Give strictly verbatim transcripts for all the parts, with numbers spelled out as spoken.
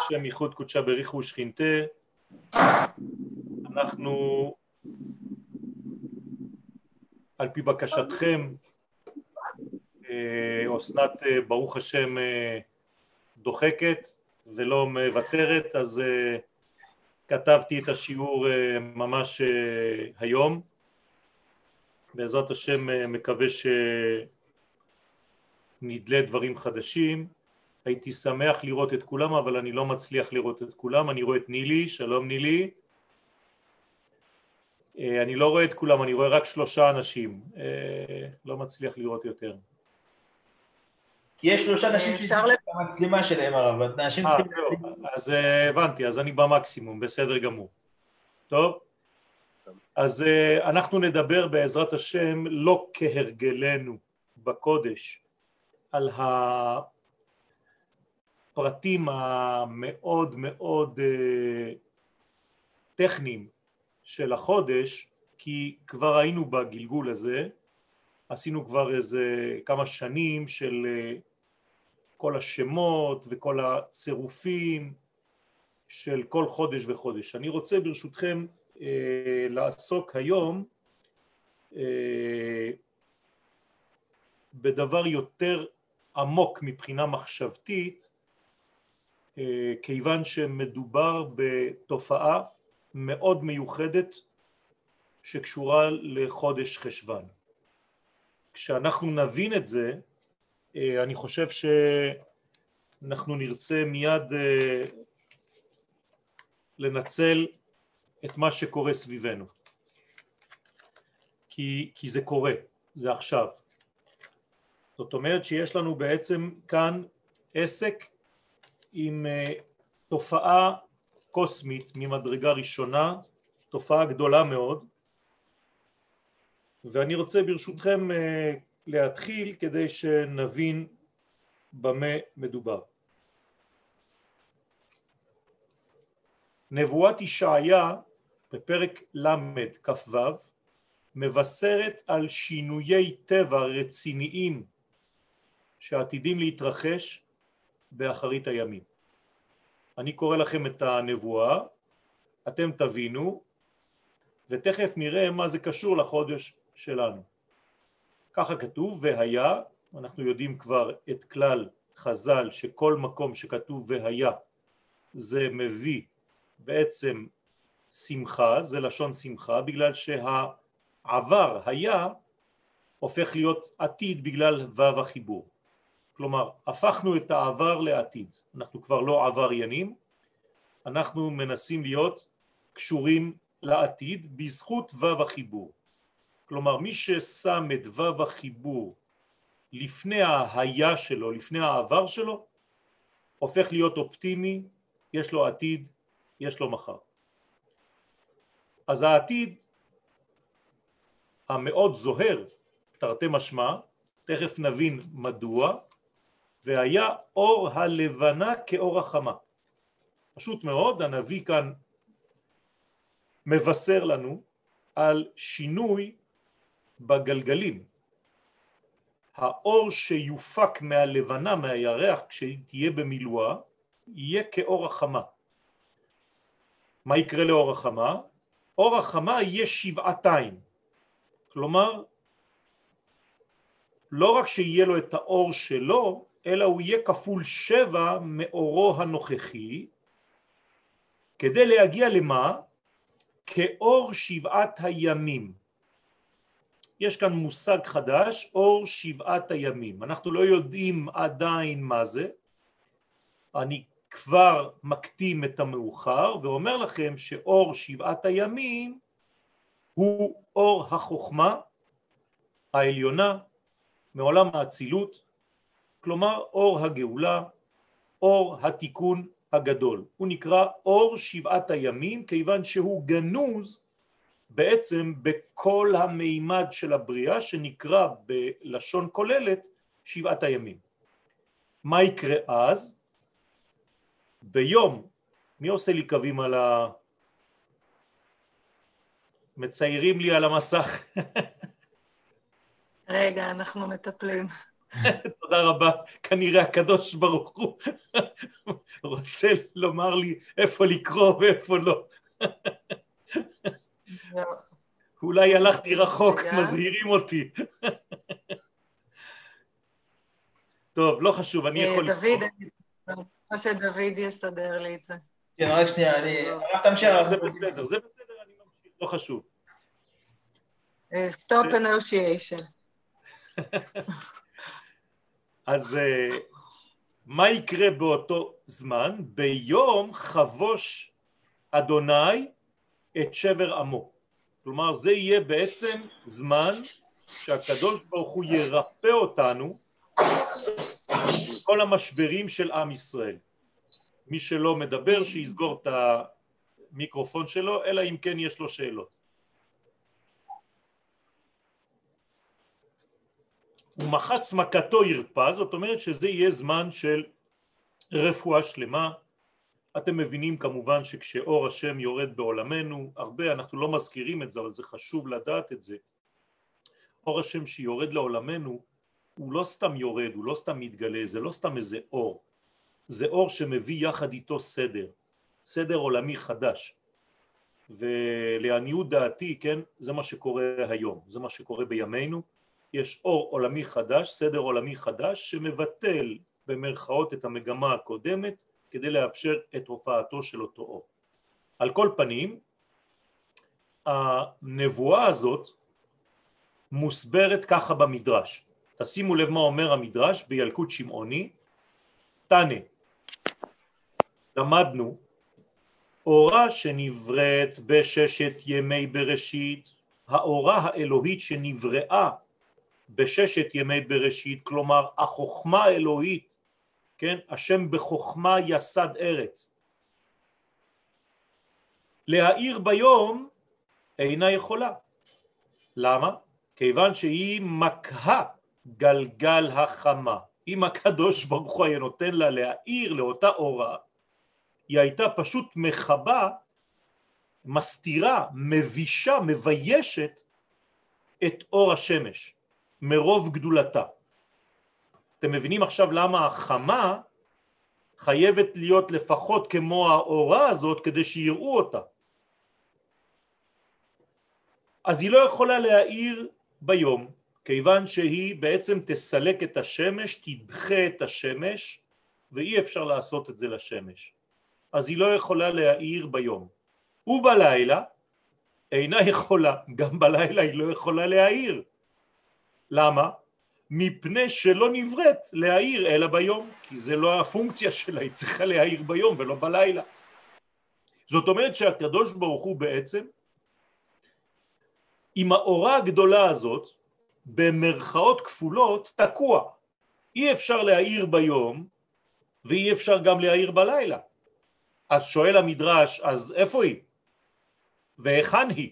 השם ייחוד קודשה בריחו ושכינתה. אנחנו על פי בקשתכם, אסנת ברוך השם דוחקת ולא מוותרת, אז כתבתי את השיעור ממש היום. בעזרת השם מקווה שנדלה דברים חדשים. הייתי שמח לראות את כולם, אבל אני לא מצליח לראות את כולם. אני רואה את נילי, שלום נילי. אני לא רואה את כולם, אני רואה רק שלושה אנשים. לא מצליח לראות יותר. כי יש שלושה אנשים שיש את המצלמה שלהם, אבל אנשים צריכים... אז הבנתי, אז אני במקסימום, בסדר גמור. טוב? אז אנחנו נדבר בעזרת השם, לא כהרגלנו בקודש, על הפרטים המאוד מאוד טכניים של החודש, כי כבר היינו בגלגול הזה, עשינו כבר איזה כמה שנים של כל השמות וכל הצירופים של כל חודש וחודש. אני רוצה ברשותכם אה, לעסוק היום אה, בדבר יותר עמוק מבחינה מחשבתית, אה, כיוון שמדובר בתופעה מאוד מיוחדת שקשורה לחודש חשבן. כשאנחנו נבין את זה, אני חושב שאנחנו נרצה מיד לנצל את מה שקורה סביבנו. כי, כי זה קורה, זה עכשיו. זאת אומרת שיש לנו בעצם כאן עסק עם תופעה קוסמית ממדרגה ראשונה, תופעה גדולה מאוד, ואני רוצה ברשותכם להתחיל כדי שנבין במה מדובר. נבואת ישעיה בפרק למד כ"ו מבשרת על שינויי טבע רציניים שעתידים להתרחש באחרית הימים. אני קורא לכם את הנבואה, אתם תבינו, ותכף נראה מה זה קשור לחודש שלנו. ככה כתוב, והיה, אנחנו יודעים כבר את כלל חז"ל שכל מקום שכתוב והיה זה מביא בעצם שמחה, זה לשון שמחה, בגלל שהעבר היה הופך להיות עתיד בגלל וו החיבור. כלומר, הפכנו את העבר לעתיד, אנחנו כבר לא עבריינים, אנחנו מנסים להיות קשורים לעתיד בזכות וו החיבור. כלומר, מי ששם את וו החיבור לפני ההיה שלו, לפני העבר שלו, הופך להיות אופטימי, יש לו עתיד, יש לו מחר. אז העתיד המאוד זוהר, תרתי משמע, תכף נבין מדוע, והיה אור הלבנה כאור החמה. פשוט מאוד, הנביא כאן מבשר לנו על שינוי בגלגלים. האור שיופק מהלבנה, מהירח, כשהיא תהיה במילואה, יהיה כאור החמה. מה יקרה לאור החמה? אור החמה יהיה שבעתיים. כלומר, לא רק שיהיה לו את האור שלו, אלא הוא יהיה כפול שבע מאורו הנוכחי, כדי להגיע למה? כאור שבעת הימים. יש כאן מושג חדש, אור שבעת הימים. אנחנו לא יודעים עדיין מה זה. אני כבר מקדים את המאוחר ואומר לכם שאור שבעת הימים הוא אור החוכמה העליונה מעולם האצילות, כלומר אור הגאולה, אור התיקון הגדול. הוא נקרא אור שבעת הימים כיוון שהוא גנוז בעצם בכל המימד של הבריאה שנקרא בלשון כוללת שבעת הימים. מה יקרה אז? ביום, מי עושה לי קווים על ה... מציירים לי על המסך. רגע, אנחנו מטפלים. תודה רבה, כנראה הקדוש ברוך הוא רוצה לומר לי איפה לקרוא ואיפה לא. אולי הלכתי רחוק, מזהירים אותי. טוב, לא חשוב, אני יכול... דוד, מה שדוד יסדר לי את זה. כן, רק שנייה, אני... זה בסדר, זה בסדר, אני ממשיך, לא חשוב. Stop negotiation. אז מה יקרה באותו זמן? ביום חבוש אדוני את שבר עמו. כלומר, זה יהיה בעצם זמן שהקדוש ברוך הוא ירפא אותנו כל המשברים של עם ישראל. מי שלא מדבר שיסגור את המיקרופון שלו, אלא אם כן יש לו שאלות. ומחץ מכתו ירפא, זאת אומרת שזה יהיה זמן של רפואה שלמה. אתם מבינים כמובן שכשאור השם יורד בעולמנו, הרבה אנחנו לא מזכירים את זה, אבל זה חשוב לדעת את זה. אור השם שיורד לעולמנו הוא לא סתם יורד, הוא לא סתם מתגלה, זה לא סתם איזה אור. זה אור שמביא יחד איתו סדר, סדר עולמי חדש. ולעניות דעתי, כן, זה מה שקורה היום, זה מה שקורה בימינו. יש אור עולמי חדש, סדר עולמי חדש, שמבטל במרכאות את המגמה הקודמת, כדי לאפשר את הופעתו של אותו אור. על כל פנים, הנבואה הזאת מוסברת ככה במדרש. תשימו לב מה אומר המדרש בילקוט שמעוני. תנא, למדנו, אורה שנבראת בששת ימי בראשית, האורה האלוהית שנבראה בששת ימי בראשית, כלומר החוכמה האלוהית, כן, השם בחוכמה יסד ארץ, להאיר ביום אינה יכולה. למה? כיוון שהיא מקהה גלגל החמה. אם הקדוש ברוך הוא היה נותן לה להאיר לאותה אורה, היא הייתה פשוט מחבה, מסתירה, מבישה, מביישת את אור השמש מרוב גדולתה. אתם מבינים עכשיו למה החמה חייבת להיות לפחות כמו האורה הזאת כדי שיראו אותה. אז היא לא יכולה להאיר ביום, כיוון שהיא בעצם תסלק את השמש, תדחה את השמש, ואי אפשר לעשות את זה לשמש. אז היא לא יכולה להאיר ביום. ובלילה אינה יכולה, גם בלילה היא לא יכולה להאיר. למה? מפני שלא נבראת להאיר אלא ביום, כי זה לא הפונקציה שלה, היא צריכה להאיר ביום ולא בלילה. זאת אומרת שהקדוש ברוך הוא בעצם, עם האורה הגדולה הזאת, במרכאות כפולות, תקוע. אי אפשר להאיר ביום, ואי אפשר גם להאיר בלילה. אז שואל המדרש, אז איפה היא? והיכן היא?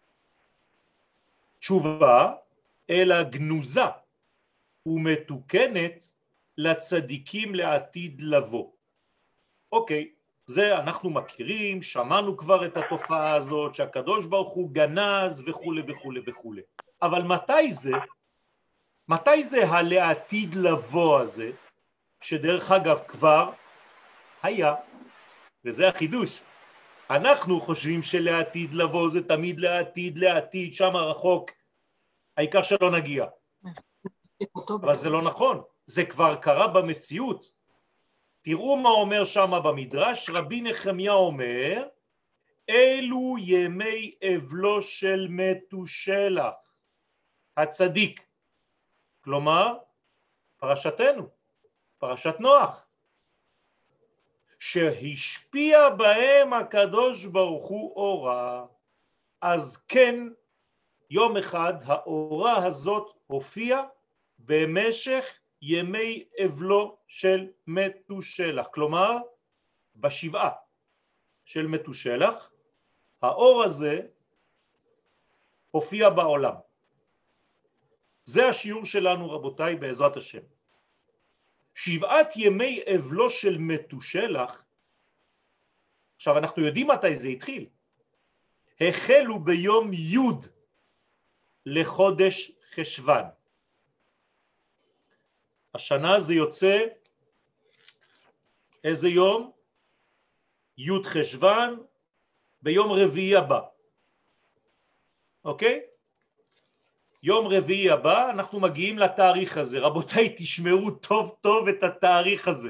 תשובה, אלא גנוזה ומתוקנת לצדיקים לעתיד לבוא. אוקיי, זה אנחנו מכירים, שמענו כבר את התופעה הזאת, שהקדוש ברוך הוא גנז וכו' וכו' וכו'. אבל מתי זה? מתי זה הלעתיד לבוא הזה, שדרך אגב כבר היה, וזה החידוש. אנחנו חושבים שלעתיד לבוא זה תמיד לעתיד, לעתיד, שם רחוק, העיקר שלא נגיע. אבל זה לא נכון, זה כבר קרה במציאות. תראו מה אומר שם במדרש, רבי נחמיה אומר, אלו ימי אבלו של מתושלח, הצדיק. כלומר, פרשתנו, פרשת נוח, שהשפיע בהם הקדוש ברוך הוא אורה. אז כן, יום אחד האורה הזאת הופיעה במשך ימי אבלו של מתושלח, כלומר בשבעה של מתושלח האור הזה הופיע בעולם. זה השיעור שלנו רבותיי בעזרת השם. שבעת ימי אבלו של מתושלח, עכשיו אנחנו יודעים מתי זה התחיל, החלו ביום י' לחודש חשוון. השנה זה יוצא איזה יום? י' חשוון, ביום רביעי הבא. אוקיי? יום רביעי הבא אנחנו מגיעים לתאריך הזה. רבותיי, תשמרו טוב טוב את התאריך הזה.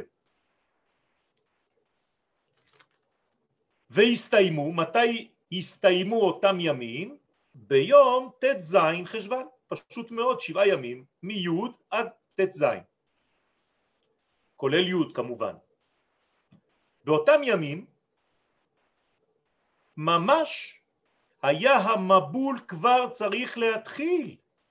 והסתיימו, מתי הסתיימו אותם ימים? ביום ת' ז' חשוון. פשוט מאוד, שבעה ימים, מי' עד ת' ז'. כולל י' כמובן. באותם ימים, ממש היה המבול כבר צריך להתחיל.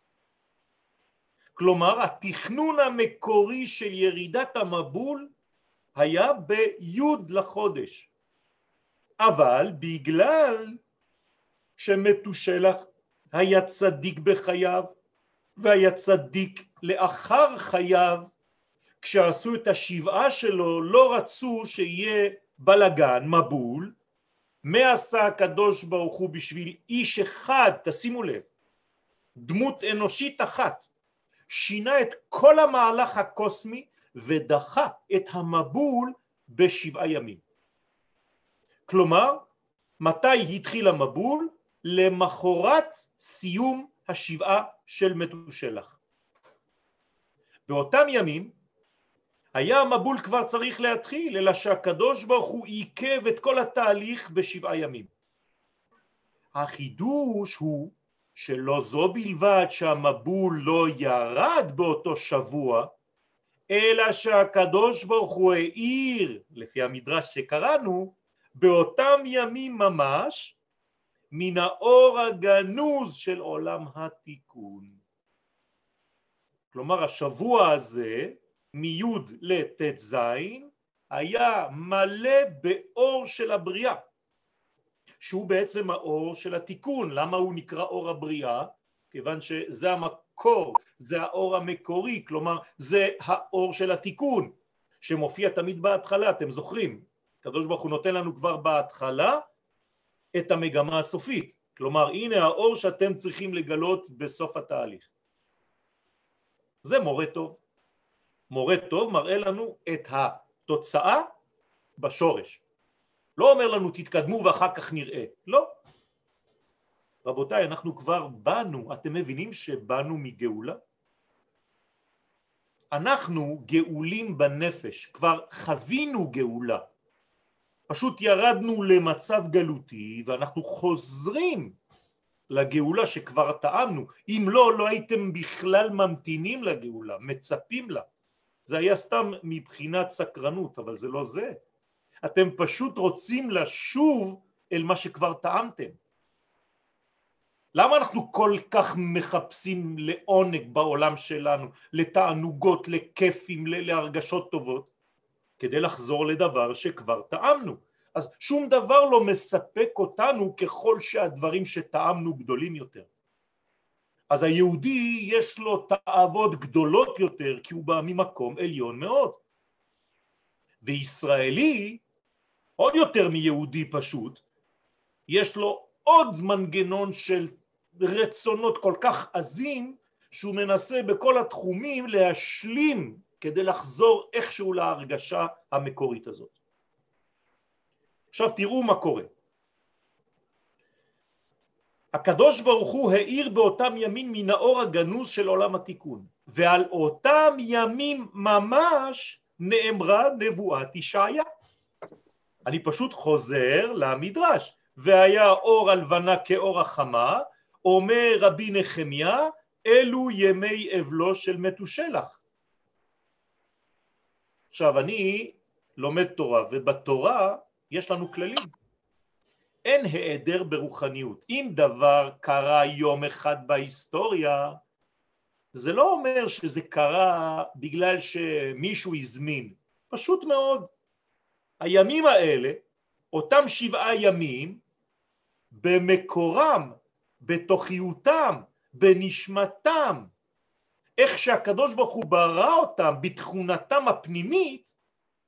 כלומר, התכנון המקורי של ירידת המבול היה בי' לחודש. אבל בגלל שמתושלח היה צדיק בחייו, והיה צדיק לאחר חייו, כשעשו את השבעה שלו לא רצו שיהיה בלגן, מבול. מה עשה הקדוש ברוך הוא בשביל איש אחד? תשימו לב, דמות אנושית אחת, שינה את כל המהלך הקוסמי ודחה את המבול בשבעה ימים. כלומר, מתי התחיל המבול? למחרת סיום השבעה של מתושלח. באותם ימים היה המבול כבר צריך להתחיל, אלא שהקדוש ברוך הוא עיכב את כל התהליך בשבעה ימים. החידוש הוא שלא זו בלבד שהמבול לא ירד באותו שבוע, אלא שהקדוש ברוך הוא העיר, לפי המדרש שקראנו, באותם ימים ממש, מן האור הגנוז של עולם התיקון. כלומר, השבוע הזה, מי' לת' ז', היה מלא באור של הבריאה, שהוא בעצם האור של התיקון. למה הוא נקרא אור הבריאה? כיוון שזה המקור, זה האור המקורי, כלומר זה האור של התיקון, שמופיע תמיד בהתחלה, אתם זוכרים? הקדוש ברוך הוא נותן לנו כבר בהתחלה את המגמה הסופית, כלומר הנה האור שאתם צריכים לגלות בסוף התהליך. זה מורה טוב. מורה טוב מראה לנו את התוצאה בשורש. לא אומר לנו תתקדמו ואחר כך נראה. לא. רבותיי, אנחנו כבר באנו, אתם מבינים שבאנו מגאולה? אנחנו גאולים בנפש, כבר חווינו גאולה. פשוט ירדנו למצב גלותי ואנחנו חוזרים לגאולה שכבר טעמנו. אם לא, לא הייתם בכלל ממתינים לגאולה, מצפים לה. זה היה סתם מבחינת סקרנות, אבל זה לא זה. אתם פשוט רוצים לשוב אל מה שכבר טעמתם. למה אנחנו כל כך מחפשים לעונג בעולם שלנו, לתענוגות, לכיפים, להרגשות טובות? כדי לחזור לדבר שכבר טעמנו. אז שום דבר לא מספק אותנו ככל שהדברים שטעמנו גדולים יותר. אז היהודי יש לו תאוות גדולות יותר, כי הוא בא ממקום עליון מאוד. וישראלי, עוד יותר מיהודי פשוט, יש לו עוד מנגנון של רצונות כל כך עזים, שהוא מנסה בכל התחומים להשלים כדי לחזור איכשהו להרגשה המקורית הזאת. עכשיו תראו מה קורה. הקדוש ברוך הוא האיר באותם ימים מן האור הגנוז של עולם התיקון, ועל אותם ימים ממש נאמרה נבואת ישעיה. אני פשוט חוזר למדרש. והיה אור הלבנה כאור החמה, אומר רבי נחמיה, אלו ימי אבלו של מתושלח. עכשיו אני לומד תורה, ובתורה יש לנו כללים. אין העדר ברוחניות. אם דבר קרה יום אחד בהיסטוריה, זה לא אומר שזה קרה בגלל שמישהו הזמין. פשוט מאוד. הימים האלה, אותם שבעה ימים, במקורם, בתוכיותם, בנשמתם, איך שהקדוש ברוך הוא ברא אותם, בתכונתם הפנימית,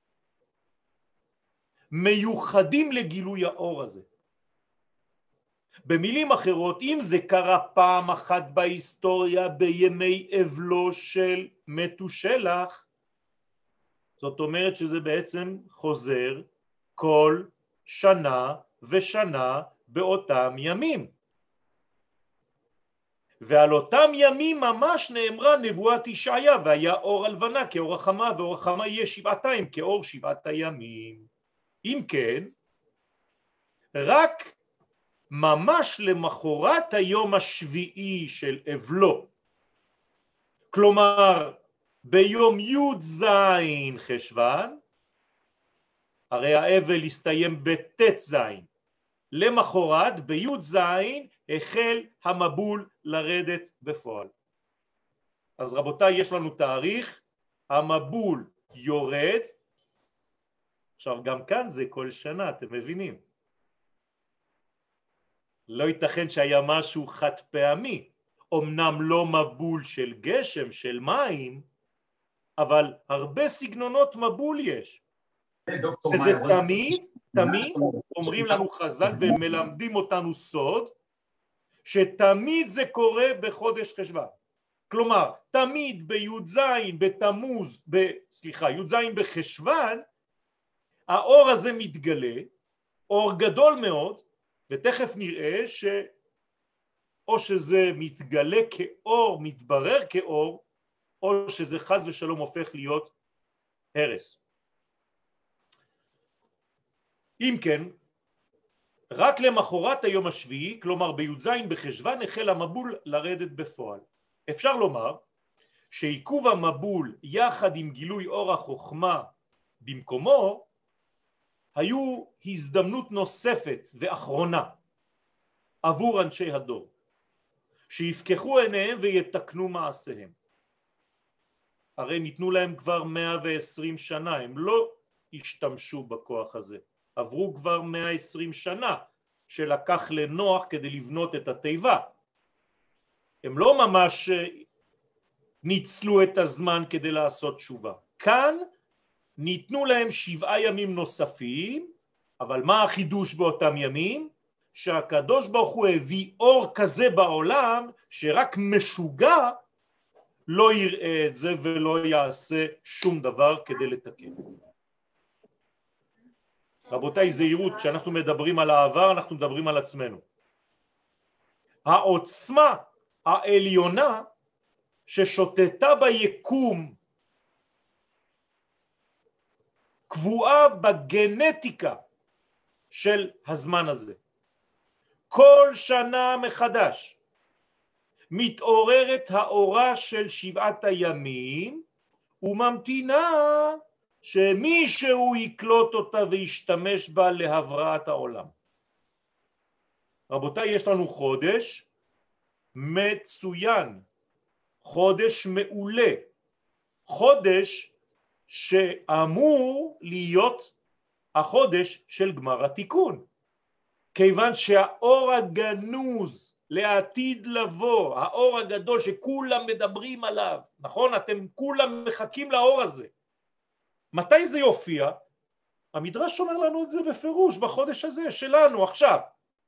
מיוחדים לגילוי האור הזה. במילים אחרות, אם זה קרה פעם אחת בהיסטוריה בימי אבלו של מתושלח, זאת אומרת שזה בעצם חוזר כל שנה ושנה באותם ימים. ועל אותם ימים ממש נאמרה נבואת ישעיה, והיה אור הלבנה כאור החמה, ואור החמה יהיה שבעתיים כאור שבעת הימים. אם כן, רק ממש למחרת היום השביעי של אבלו, כלומר ביום י' זין חשוון, הרי האבל הסתיים בט' זין, למחרת בי' זין החל המבול לרדת בפועל. אז רבותיי, יש לנו תאריך, המבול יורד, עכשיו גם כאן זה כל שנה, אתם מבינים? לא ייתכן שהיה משהו חד פעמי, אמנם לא מבול של גשם, של מים, אבל הרבה סגנונות מבול יש. וזה תמיד, תמיד אומרים לנו חז"ל ומלמדים אותנו סוד, שתמיד זה קורה בחודש חשוון. כלומר, תמיד בי"ז בתמוז, ב, סליחה, י"ז בחשוון, האור הזה מתגלה, אור גדול מאוד, ותכף נראה שאו שזה מתגלה כאור, מתברר כאור, או שזה חס ושלום הופך להיות הרס. אם כן, רק למחרת היום השביעי, כלומר בי"ז בחשוון, החל המבול לרדת בפועל. אפשר לומר שעיכוב המבול יחד עם גילוי אור החוכמה במקומו, היו הזדמנות נוספת ואחרונה עבור אנשי הדור, שיפקחו עיניהם ויתקנו מעשיהם. הרי ניתנו להם כבר מאה ועשרים שנה, הם לא השתמשו בכוח הזה. עברו כבר מאה ועשרים שנה שלקח לנוח כדי לבנות את התיבה. הם לא ממש ניצלו את הזמן כדי לעשות תשובה. כאן ניתנו להם שבעה ימים נוספים, אבל מה החידוש באותם ימים? שהקדוש ברוך הוא הביא אור כזה בעולם שרק משוגע לא יראה את זה ולא יעשה שום דבר כדי לתקן. רבותיי, זהירות, כשאנחנו מדברים על העבר אנחנו מדברים על עצמנו. העוצמה העליונה ששוטטה ביקום קבועה בגנטיקה של הזמן הזה. כל שנה מחדש מתעוררת האורה של שבעת הימים וממתינה שמישהו יקלוט אותה וישתמש בה להבראת העולם. רבותיי, יש לנו חודש מצוין, חודש מעולה, חודש שאמור להיות החודש של גמר התיקון, כיוון שהאור הגנוז לעתיד לבוא, האור הגדול שכולם מדברים עליו, נכון? אתם כולם מחכים לאור הזה. מתי זה יופיע? המדרש אומר לנו את זה בפירוש בחודש הזה שלנו עכשיו.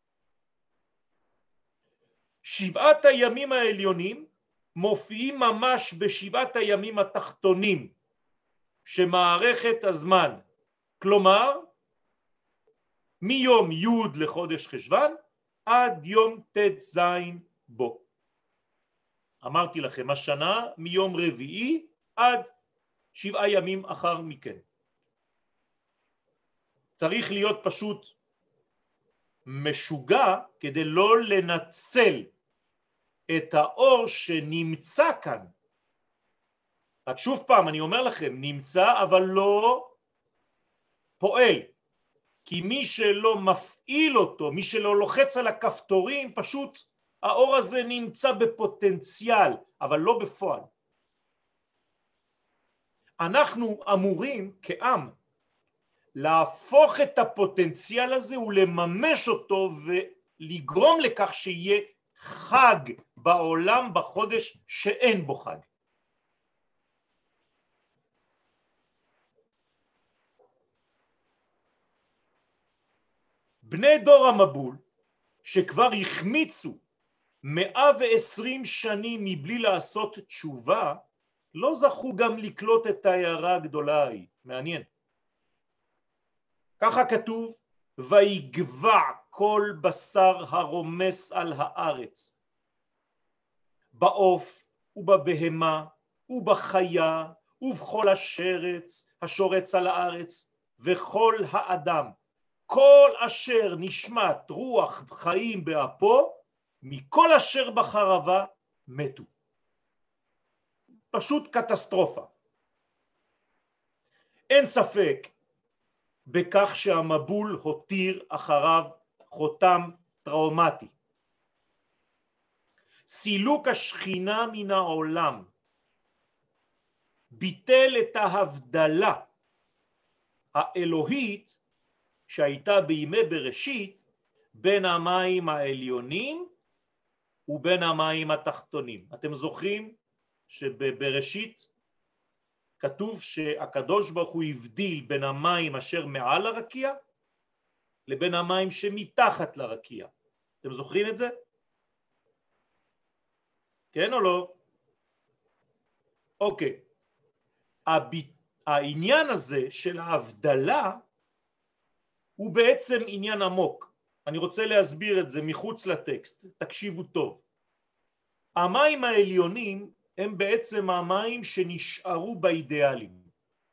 שבעת הימים העליונים מופיעים ממש בשבעת הימים התחתונים שמערכת הזמן, כלומר מיום י' לחודש חשוון עד יום ט' ז' בו. אמרתי לכם, השנה מיום רביעי עד שבעה ימים אחר מכן. צריך להיות פשוט משוגע כדי לא לנצל את האור שנמצא כאן. רק שוב פעם אני אומר לכם, נמצא אבל לא פועל, כי מי שלא מפעיל אותו, מי שלא לוחץ על הכפתורים, פשוט האור הזה נמצא בפוטנציאל אבל לא בפועל. אנחנו אמורים כעם להפוך את הפוטנציאל הזה ולממש אותו ולגרום לכך שיהיה חג בעולם בחודש שאין בו חג. בני דור המבול שכבר החמיצו מאה ועשרים שנים מבלי לעשות תשובה, לא זכו גם לקלוט את ההערה הגדולה ההיא. מעניין. ככה כתוב, ויגבע כל בשר הרומס על הארץ, בעוף ובבהמה ובחיה ובכל השרץ, השורץ על הארץ, וכל האדם, כל אשר נשמת רוח חיים באפו, מכל אשר בחרבה מתו. פשוט קטסטרופה. אין ספק בכך שהמבול הותיר אחריו חותם טראומטי. סילוק השכינה מן העולם ביטל את ההבדלה האלוהית שהייתה בימי בראשית בין המים העליונים ובין המים התחתונים. אתם זוכרים שבבראשית כתוב שהקדוש ברוך הוא הבדיל בין המים אשר מעל הרקיע לבין המים שמתחת לרקיע. אתם זוכרים את זה? כן או לא? אוקיי. העניין הזה של ההבדלה הוא בעצם עניין עמוק. אני רוצה להסביר את זה מחוץ לטקסט, תקשיבו טוב. המים העליונים הם בעצם המים שנשארו באידיאלים.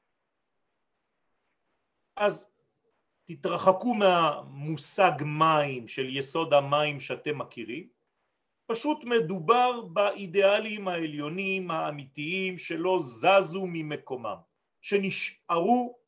אז תתרחקו מהמושג מים של יסוד המים שאתם מכירים, פשוט מדובר באידיאלים העליונים האמיתיים שלא זזו ממקומם, שנשארו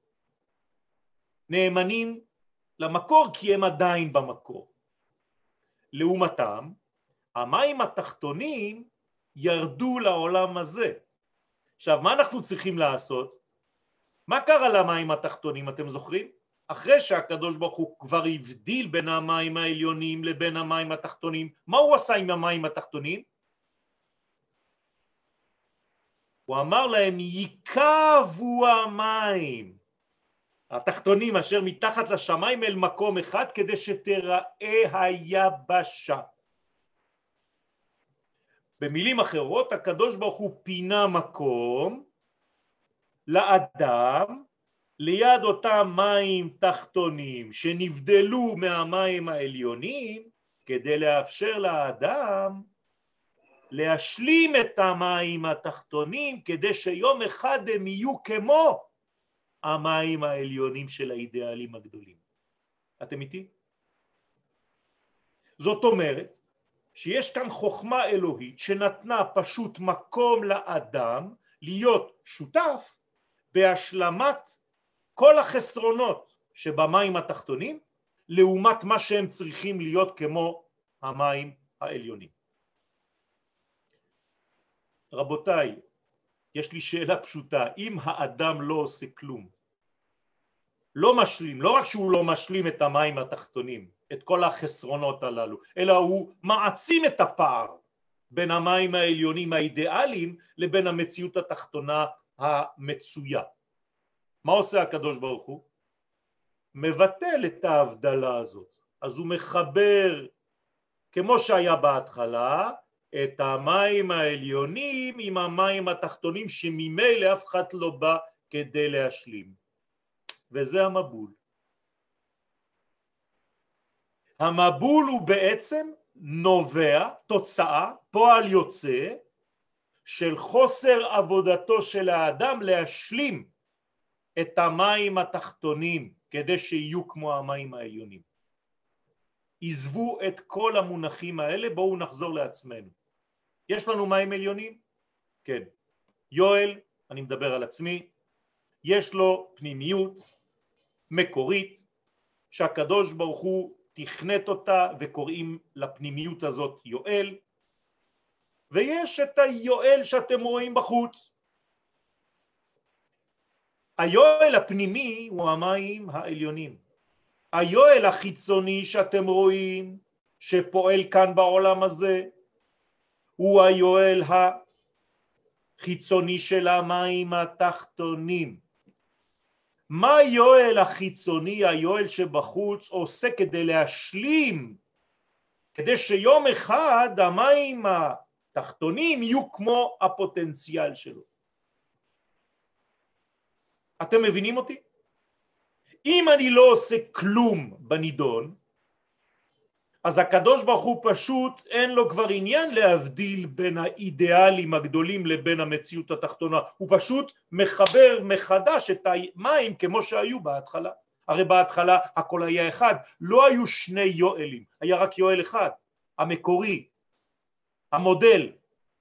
נאמנים למקור כי הם עדיין במקור. לעומתם, המים התחתונים ירדו לעולם הזה. עכשיו, מה אנחנו צריכים לעשות? מה קרה למים התחתונים, אתם זוכרים? אחרי שהקדוש ברוך הוא כבר הבדיל בין המים העליונים לבין המים התחתונים, מה הוא עשה עם המים התחתונים? הוא אמר להם, ייקבו המים התחתונים אשר מתחת לשמיים אל מקום אחד כדי שתראה היבשה. במילים אחרות, הקדוש ברוך הוא פינה מקום לאדם ליד אותם מים תחתונים שנבדלו מהמים העליונים כדי לאפשר לאדם להשלים את המים התחתונים כדי שיום אחד הם יהיו כמו המים העליונים של האידיאלים הגדולים. אתם איתי? זאת אומרת שיש כאן חוכמה אלוהית שנתנה פשוט מקום לאדם להיות שותף בהשלמת כל החסרונות שבמים התחתונים לעומת מה שהם צריכים להיות כמו המים העליונים. רבותיי, יש לי שאלה פשוטה, אם האדם לא עושה כלום, לא משלים, לא רק שהוא לא משלים את המים התחתונים, את כל החסרונות הללו, אלא הוא מעצים את הפער בין המים העליונים האידיאליים לבין המציאות התחתונה המצויה. מה עושה הקדוש ברוך הוא? מבטל את ההבדלה הזאת. אז הוא מחבר, כמו שהיה בהתחלה, את המים העליונים עם המים התחתונים שממילא אף אחד לא בא כדי להשלים. וזה המבול. המבול הוא בעצם נובע, תוצאה, פועל יוצא של חוסר עבודתו של האדם להשלים את המים התחתונים כדי שיהיו כמו המים העליונים. עזבו את כל המונחים האלה, בואו נחזור לעצמנו. יש לנו מים עליונים? כן. יואל, אני מדבר על עצמי, יש לו פנימיות מקורית שהקדוש ברוך הוא תכנת אותה וקוראים לפנימיות הזאת יואל, ויש את היואל שאתם רואים בחוץ. היואל הפנימי הוא המים העליונים. היואל החיצוני שאתם רואים שפועל כאן בעולם הזה הוא היואל החיצוני של המים התחתונים. מה היואל החיצוני, היואל שבחוץ, עושה כדי להשלים כדי שיום אחד המים התחתונים יהיו כמו הפוטנציאל שלו. אתם מבינים אותי? אם אני לא עושה כלום בנידון, אז הקדוש ברוך הוא פשוט אין לו כבר עניין להבדיל בין האידיאלים הגדולים לבין המציאות התחתונה, הוא פשוט מחבר מחדש את המים כמו שהיו בהתחלה. הרי בהתחלה הכל היה אחד, לא היו שני יואלים, היה רק יואל אחד, המקורי, המודל.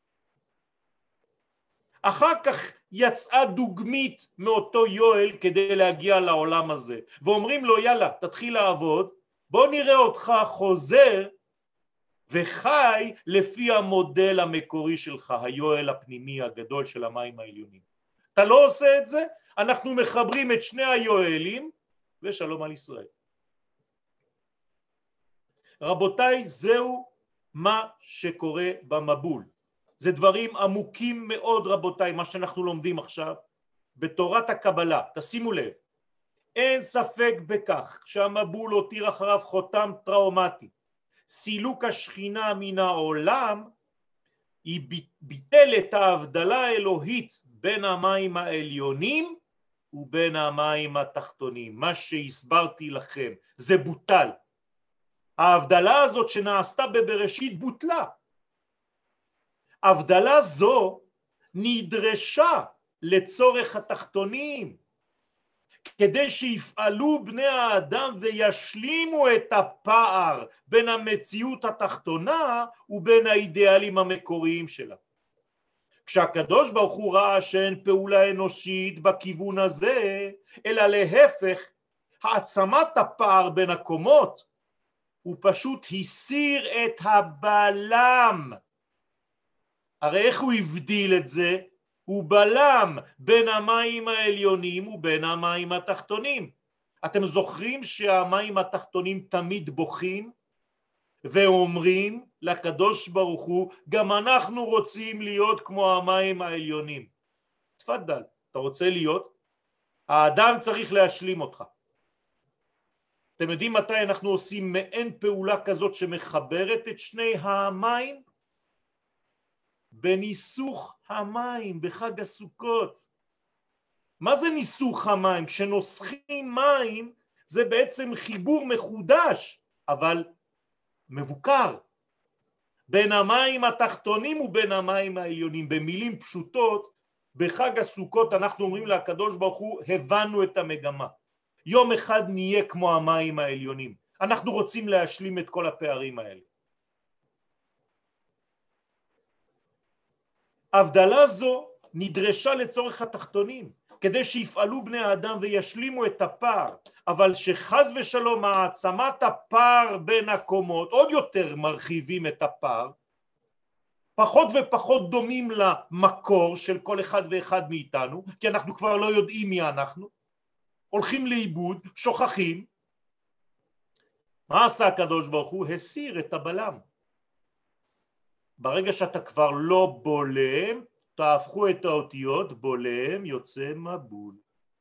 אחר כך יצאה דוגמית מאותו יואל כדי להגיע לעולם הזה, ואומרים לו יאללה תתחיל לעבוד, בוא נראה אותך חוזר וחי לפי המודל המקורי שלך, היואל הפנימי הגדול של המים העליונים. אתה לא עושה את זה, אנחנו מחברים את שני היואלים ושלום על ישראל. רבותיי, זהו מה שקורה במבול. זה דברים עמוקים מאוד רבותיי, מה שאנחנו לומדים עכשיו בתורת הקבלה. תשימו לב, אין ספק בכך שהמבול הותיר אחריו חותם טראומטי. סילוק השכינה מן העולם היא ביטל את ההבדלה האלוהית בין המים העליונים ובין המים התחתונים. מה שהסברתי לכם זה בוטל. ההבדלה הזאת שנעשתה בבראשית בוטלה. הבדלה זו נדרשה לצורך התחתונים, כדי שיפעלו בני האדם וישלימו את הפער בין המציאות התחתונה ובין האידיאלים המקוריים שלה. כשהקדוש ברוך הוא ראה שאין פעולה אנושית בכיוון הזה, אלא להפך, העצמת הפער בין הקומות, הוא פשוט הסיר את הבלם. הרי איך הוא הבדיל את זה? הוא בלם בין המים העליונים ובין המים התחתונים. אתם זוכרים שהמים התחתונים תמיד בוכים ואומרים לקדוש ברוך הוא, גם אנחנו רוצים להיות כמו המים העליונים. תפדל, אתה רוצה להיות? האדם צריך להשלים אותך. אתם יודעים מתי אנחנו עושים מעין פעולה כזאת שמחברת את שני המים? בניסוך המים, בחג הסוכות. מה זה ניסוך המים? כשנוסחים מים זה בעצם חיבור מחודש, אבל מבוקר, בין המים התחתונים ובין המים העליונים. במילים פשוטות, בחג הסוכות אנחנו אומרים לקדוש ברוך הוא, הבנו את המגמה. יום אחד נהיה כמו המים העליונים. אנחנו רוצים להשלים את כל הפערים האלה. הבדלה זו נדרשה לצורך התחתונים, כדי שיפעלו בני האדם וישלימו את הפער, אבל שחז ושלום העצמת הפער בין הקומות, עוד יותר מרחיבים את הפער, פחות ופחות דומים למקור של כל אחד ואחד מאיתנו, כי אנחנו כבר לא יודעים מי אנחנו, הולכים לאיבוד, שוכחים. מה עשה הקדוש ברוך הוא? הסיר את הבלם. ברגע שאתה כבר לא בולם, תהפכו את האותיות, בולם יוצא מבול.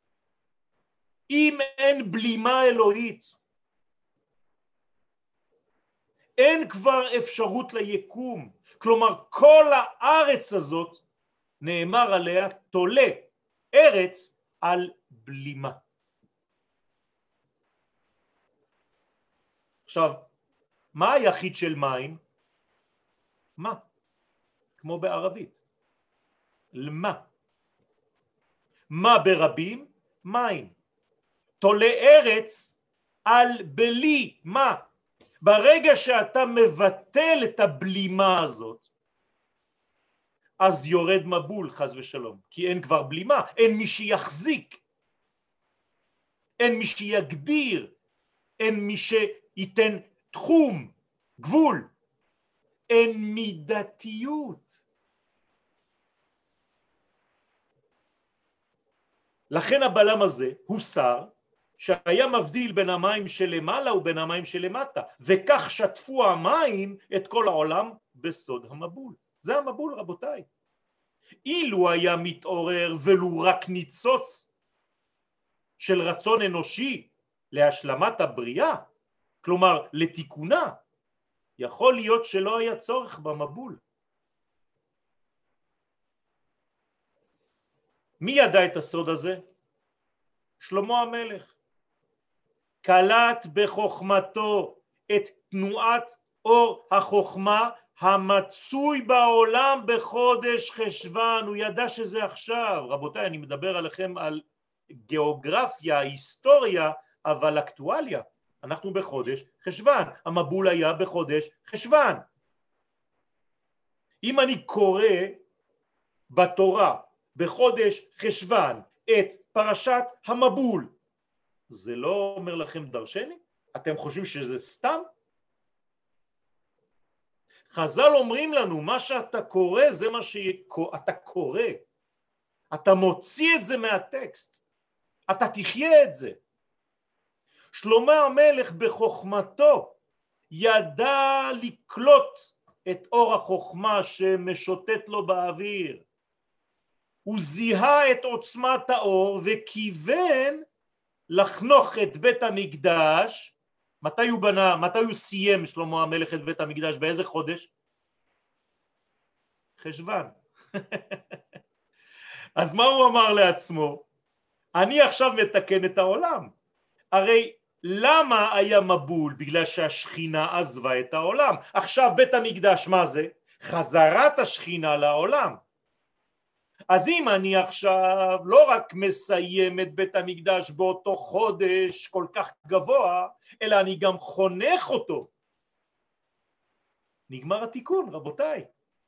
אם אין בלימה אלוהית, אין כבר אפשרות ליקום. כלומר, כל הארץ הזאת נאמר עליה תולה ארץ על בלימה. עכשיו, מה היחיד של מים? מה? כמו בערבית. למה? מה ברבים? מים. תולה ארץ על בלי. מה? ברגע שאתה מבטל את הבלימה הזאת, אז יורד מבול חס ושלום, כי אין כבר בלימה, אין מי שיחזיק, אין מי שיגדיר, אין מי שייתן תחום, גבול, אין מידתיות. לכן הבלם הזה הוסר, שהיה מבדיל בין המים שלמעלה ובין המים שלמטה, וכך שטפו המים את כל העולם בסוד המבול. זה המבול רבותיי. אילו היה מתעורר ולו רק ניצוץ של רצון אנושי להשלמת הבריאה, כלומר לתיקונה, יכול להיות שלא היה צורך במבול. מי ידע את הסוד הזה? שלמה המלך. קלט בחוכמתו את תנועת אור החוכמה המצוי בעולם בחודש חשבן. הוא ידע שזה עכשיו. רבותיי, אני מדבר עליכם על גיאוגרפיה, היסטוריה, אבל אקטואליה. אנחנו בחודש חשבן. המבול היה בחודש חשבן. אם אני קורא בתורה בחודש חשבן את פרשת המבול, זה לא אומר לכם דרשני? אתם חושבים שזה סתם? חז"ל אומרים לנו, מה שאתה קורא זה מה שאתה קורא. אתה מוציא את זה מהטקסט. אתה תחיה את זה. שלמה המלך בחוכמתו ידע לקלוט את אור החוכמה שמשוטט לו באוויר. הוא זיהה את עוצמת האור וכיוון לחנוך את בית המקדש. מתי הוא בנה, מתי הוא סיים שלמה המלך את בית המקדש? באיזה חודש? חשבן. אז מה הוא אמר לעצמו? אני עכשיו מתקן את העולם. הרי למה היה מבול? בגלל שהשכינה עזבה את העולם. עכשיו בית המקדש מה זה? חזרת השכינה לעולם. אז אם אני עכשיו לא רק מסיים את בית המקדש באותו חודש כל כך גבוה, אלא אני גם חונך אותו, נגמר התיקון, רבותיי.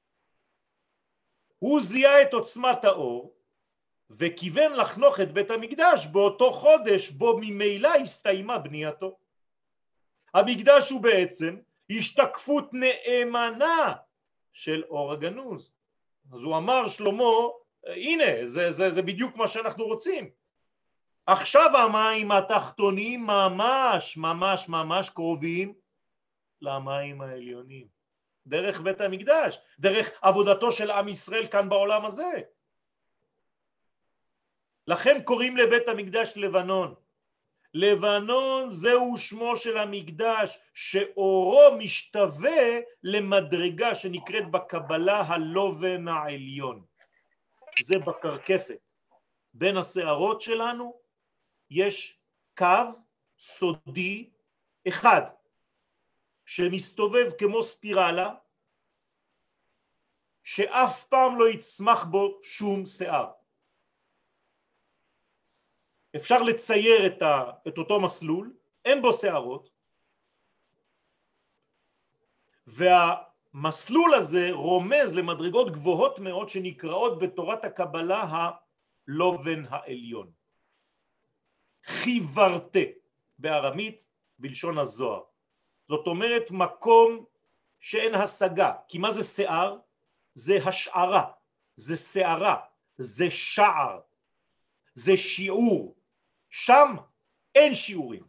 הוא זיהה את עוצמת האור וכיוון לחנוך את בית המקדש באותו חודש בו ממילא הסתיימה בנייתו. המקדש הוא בעצם השתקפות נאמנה של אור הגנוז. אז הוא אמר שלמה, הנה, זה, זה, זה בדיוק מה שאנחנו רוצים. עכשיו המים התחתונים ממש, ממש, ממש קרובים למים העליונים. דרך בית המקדש, דרך עבודתו של עם ישראל כאן בעולם הזה. לכן קוראים לבית המקדש לבנון. לבנון זהו שמו של המקדש שאורו משתווה למדרגה שנקראת בקבלה הלובן העליון. זה בקרקפת. בין השערות שלנו יש קו סודי אחד שמסתובב כמו ספירלה שאף פעם לא יצמח בו שום שיער. אפשר לצייר את, ה, את אותו מסלול, אין בו שערות, והמסלול הזה רומז למדרגות גבוהות מאוד שנקראות בתורת הקבלה הלובן העליון. חיוורתה בארמית בלשון הזוהר. זאת אומרת מקום שאין השגה. כי מה זה שיער? זה השערה, זה שערה, זה שער, זה שיעור. שם אין שיעורים.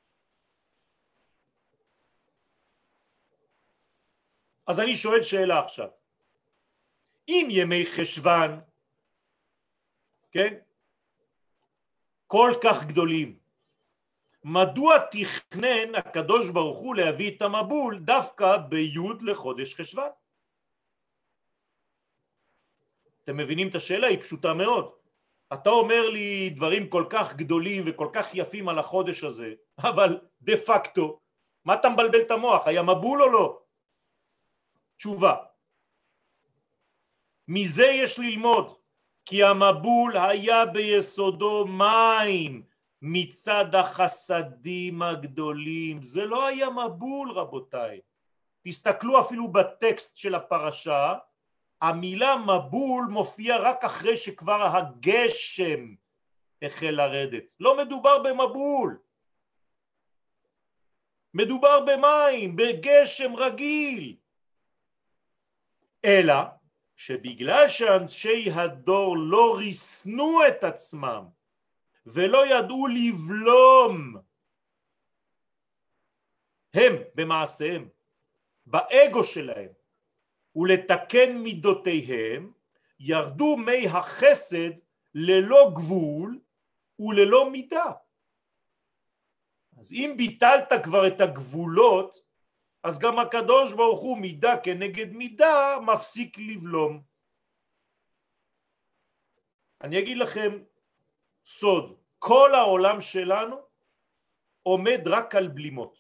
אז אני שואל שאלה עכשיו. אם ימי חשבן, כן, כל כך גדולים, מדוע תכנן הקדוש ברוך הוא להביא את המבול דווקא ביוד לחודש חשבן? אתם מבינים את השאלה? היא פשוטה מאוד. אתה אומר לי דברים כל כך גדולים וכל כך יפים על החודש הזה, אבל דה פקטו, מה אתה מבלבל את המוח? היה מבול או לא? תשובה. מזה יש ללמוד, כי המבול היה ביסודו מים מצד החסדים הגדולים. זה לא היה מבול, רבותיי. תסתכלו אפילו בטקסט של הפרשה, המילה מבול מופיע רק אחרי שכבר הגשם החל לרדת. לא מדובר במבול. מדובר במים, בגשם רגיל. אלא שבגלל שאנשי הדור לא ריסנו את עצמם ולא ידעו לבלום הם במעשיהם, באגו שלהם, ולתקן מידותיהם, ירדו מי החסד ללא גבול וללא מידה. אז אם ביטלת כבר את הגבולות, אז גם הקדוש ברוך הוא מידה כנגד מידה מפסיק לבלום. אני אגיד לכם סוד, כל העולם שלנו עומד רק על בלימות.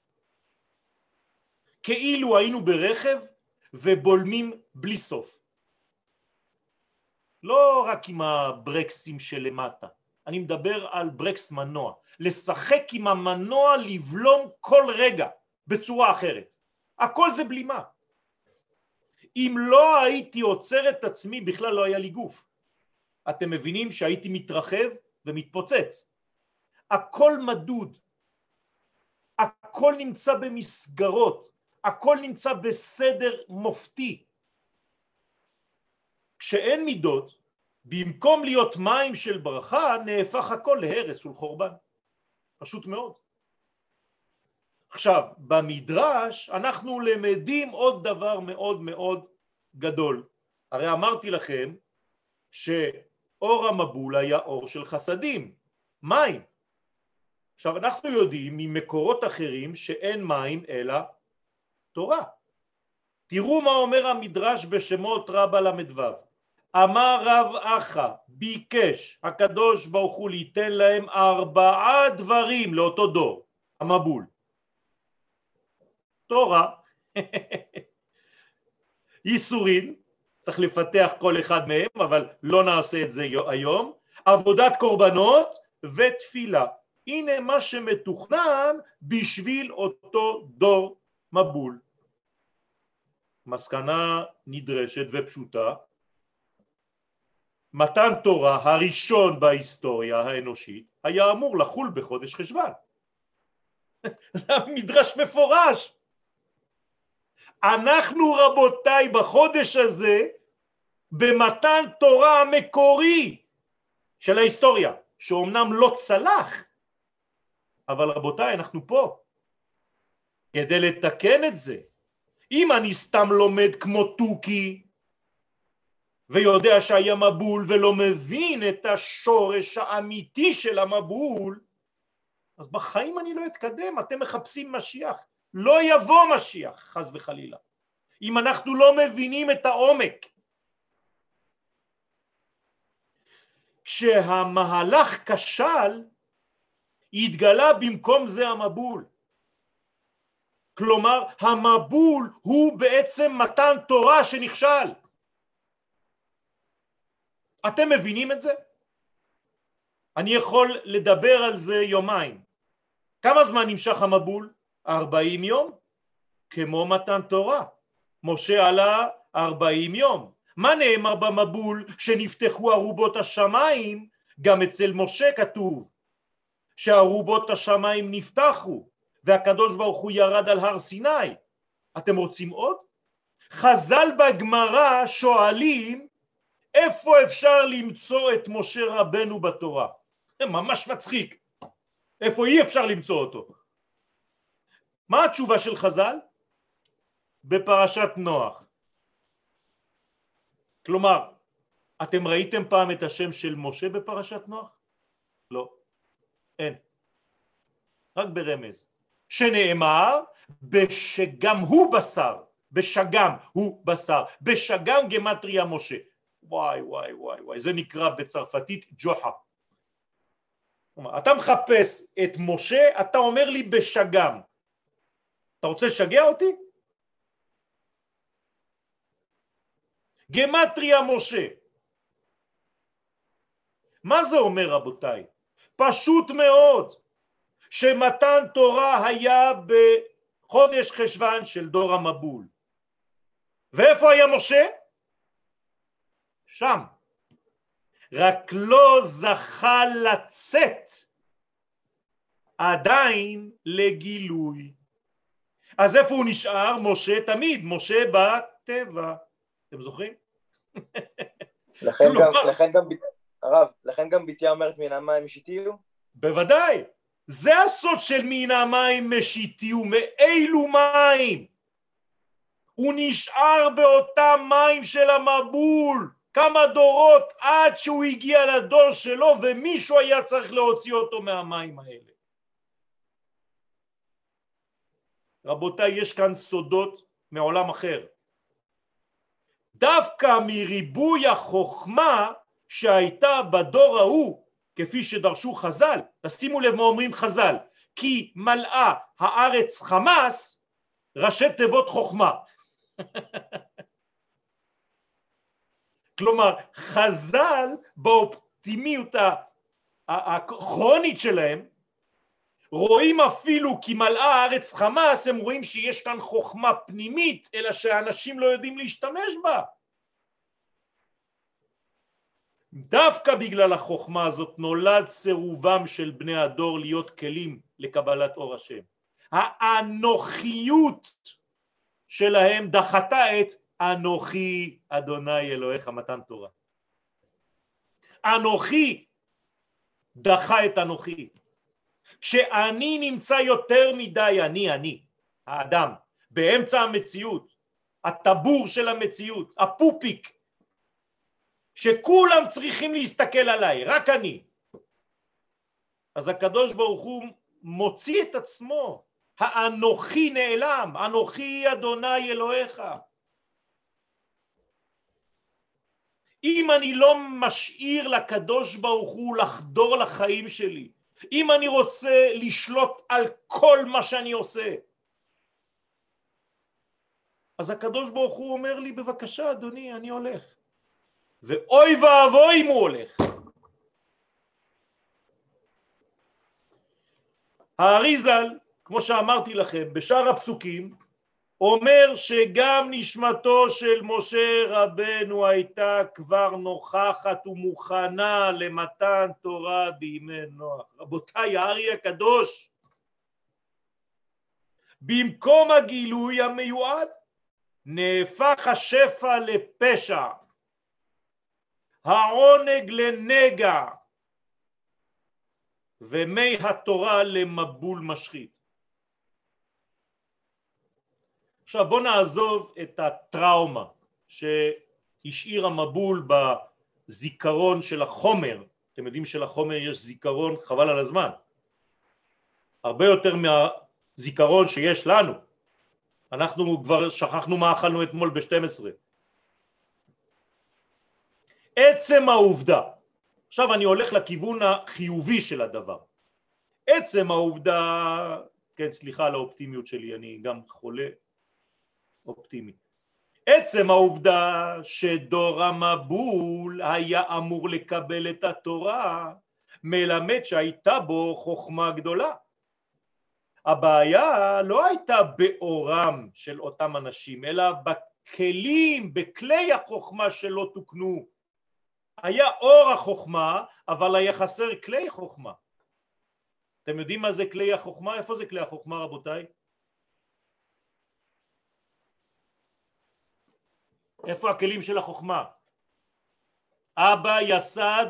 כאילו היינו ברכב ובולמים בלי סוף. לא רק עם הברקסים שלמטה, אני מדבר על ברקס מנוע. לשחק עם המנוע, לבלום כל רגע בצורה אחרת. הכל זה בלימה. אם לא הייתי עוצר את עצמי, בכלל לא היה לי גוף. אתם מבינים שהייתי מתרחב ומתפוצץ. הכל מדוד. הכל נמצא במסגרות. הכל נמצא בסדר מופתי. כשאין מידות, במקום להיות מים של ברכה, נהפך הכל להרס ולחורבן. פשוט מאוד. עכשיו, במדרש אנחנו למדים עוד דבר מאוד מאוד גדול. הרי אמרתי לכם שאור המבול היה אור של חסדים, מים. עכשיו, אנחנו יודעים ממקורות אחרים שאין מים אלא תורה. תראו מה אומר המדרש בשמות רבה למדו. אמר רב אחא, ביקש הקדוש ברוך הוא ליתן להם ארבעה דברים לאותו דור, המבול. תורה, ייסורים, צריך לפתח כל אחד מהם, אבל לא נעשה את זה היום, עבודת קורבנות ותפילה. הנה מה שמתוכנן בשביל אותו דור מבול. מסקנה נדרשת ופשוטה, מתן תורה הראשון בהיסטוריה האנושית היה אמור לחול בחודש חשוון. זה מדרש מפורש. אנחנו רבותיי בחודש הזה במתן תורה המקורי של ההיסטוריה, שאומנם לא צלח, אבל רבותיי אנחנו פה כדי לתקן את זה. אם אני סתם לומד כמו טוקי ויודע שהיה מבול ולא מבין את השורש האמיתי של המבול, אז בחיים אני לא אתקדם. אתם מחפשים משיח, לא יבוא משיח חס וחלילה אם אנחנו לא מבינים את העומק. כשהמהלך כשל התגלה במקום זה המבול. כלומר המבול הוא בעצם מתן תורה שנכשל. אתם מבינים את זה? אני יכול לדבר על זה יומיים. כמה זמן נמשך המבול? ארבעים יום, כמו מתן תורה. משה עלה ארבעים יום. מה נאמר במבול? שנפתחו ארובות השמיים. גם אצל משה כתוב שארובות השמיים נפתחו והקדוש ברוך הוא ירד על הר סיני. אתם רוצים עוד? חז"ל בגמרא שואלים איפה אפשר למצוא את משה רבנו בתורה? זה ממש מצחיק. איפה אי אפשר למצוא אותו? מה התשובה של חז"ל? בפרשת נוח. כלומר, אתם ראיתם פעם את השם של משה בפרשת נוח? לא. אין. רק ברמז. שנאמר בשגם הוא בשר. בשגם הוא בשר. בשגם גמטריה משה. וואי וואי וואי וואי. זה נקרא בצרפתית ג'וחה. אתה מחפש את משה, אתה אומר לי בשגם. אתה רוצה לשגע אותי? גמטריה משה. מה זה אומר רבותיי? פשוט מאוד שמתן תורה היה בחודש חשוון של דור המבול. ואיפה היה משה? שם. רק לא זכה לצאת עדיין לגילוי. אז איפה הוא נשאר? משה תמיד, משה בטבע. אתם זוכרים? לכן גם, לכן גם, הרב, לכן גם ביתיה אומרת מן המים משיתיהו? בוודאי. זה הסוד של מן המים משיתיהו. מאילו מים? הוא נשאר באותם מים של המבול. כמה דורות עד שהוא הגיע לדור שלו ומישהו היה צריך להוציא אותו מהמים האלה. רבותיי, יש כאן סודות מעולם אחר. דווקא מריבוי החוכמה שהייתה בדור ההוא, כפי שדרשו חז"ל, תשימו לב מה אומרים חז"ל, כי מלאה הארץ חמס, ראשי תיבות חוכמה. כלומר, חז"ל באופטימיות הכרונית שלהם, רואים אפילו כי מלאה הארץ חמס, הם רואים שיש כאן חוכמה פנימית, אלא שאנשים לא יודעים להשתמש בה. דווקא בגלל החוכמה הזאת נולד סירובם של בני הדור להיות כלים לקבלת אור השם. האנוכיות שלהם דחתה את אנוכי אדוני אלוהיך מתן תורה. אנוכי דחה את אנוכי. כשאני נמצא יותר מדי אני, אני, האדם, באמצע המציאות, הטבור של המציאות, הפופיק, שכולם צריכים להסתכל עליי, רק אני. אז הקדוש ברוך הוא מוציא את עצמו, האנוכי נעלם, אנוכי אדוני אלוהיך. אם אני לא משאיר לקדוש ברוך הוא לחדור לחיים שלי, אם אני רוצה לשלוט על כל מה שאני עושה, אז הקדוש ברוך הוא אומר לי, בבקשה אדוני, אני הולך. ואוי ואבוי אם הוא הולך. האריזל, כמו שאמרתי לכם, בשאר הפסוקים, אומר שגם נשמתו של משה רבנו הייתה כבר נוכחת ומוכנה למתן תורה בימי נוח. רבותיי, הארי הקדוש, במקום הגילוי המיועד, נהפך השפע לפשע, העונג לנגע, ומי התורה למבול משחית. עכשיו בוא נעזוב את הטראומה שהשאיר המבול בזיכרון של החומר. אתם יודעים שלחומר יש זיכרון חבל על הזמן, הרבה יותר מהזיכרון שיש לנו. אנחנו כבר שכחנו מה אכלנו אתמול ב-שתים עשרה. עצם העובדה, עכשיו אני הולך לכיוון החיובי של הדבר, עצם העובדה, כן סליחה על האופטימיות שלי, אני גם חולה אופטימי, עצם העובדה שדור המבול היה אמור לקבל את התורה מלמד שהייתה בו חוכמה גדולה. הבעיה לא הייתה באורם של אותם אנשים, אלא בכלים, בכלי החוכמה שלא תוקנו. היה אור החוכמה, אבל היה חסר כלי חוכמה. אתם יודעים מה זה כלי החוכמה? איפה זה כלי החוכמה רבותיי? איפה הכלים של החוכמה? אבא יסד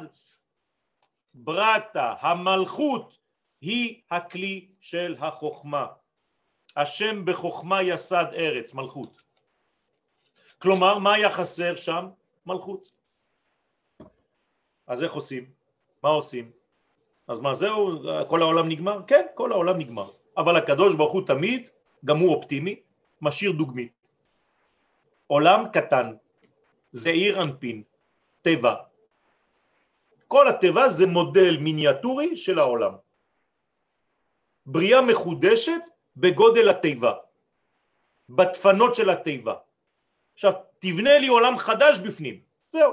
ברטה, המלכות היא הכלי של החוכמה. השם בחוכמה יסד ארץ, מלכות. כלומר, מה היה חסר שם? מלכות. אז איך עושים? מה עושים? אז מה זהו? כל העולם נגמר? כן, כל העולם נגמר. אבל הקדוש ברוך הוא תמיד, גם הוא אופטימי, משאיר דוגמית. עולם קטן, זעיר אנפין, טבע. כל הטבע זה מודל מיניאטורי של העולם. בריאה מחודשת בגודל הטבע, בדפנות של הטבע. עכשיו תבנה לי עולם חדש בפנים, זהו.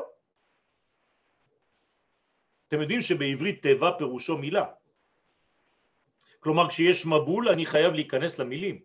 אתם יודעים שבעברית טבע פירושו מילה. כלומר כשיש מבול אני חייב להיכנס למילים,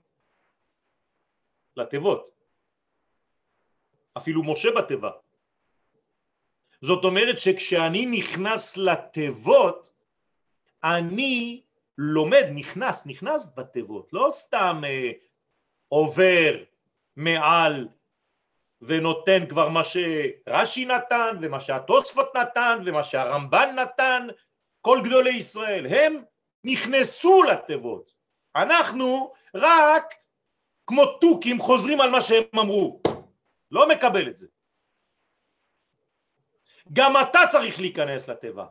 לטבעות. אפילו משה בטבע. זאת אומרת שכשאני נכנס לטבעות, אני לומד, נכנס, נכנס בטבעות, לא סתם אה, עובר מעל ונותן כבר מה שרש"י נתן ומה שהתוספות נתן ומה שהרמב"ן נתן, כל גדולי ישראל, הם נכנסו לטבעות. אנחנו רק כמו תוכים חוזרים על מה שהם אמרו. לא מקבל את זה. גם אתה צריך להיכנס לטבע.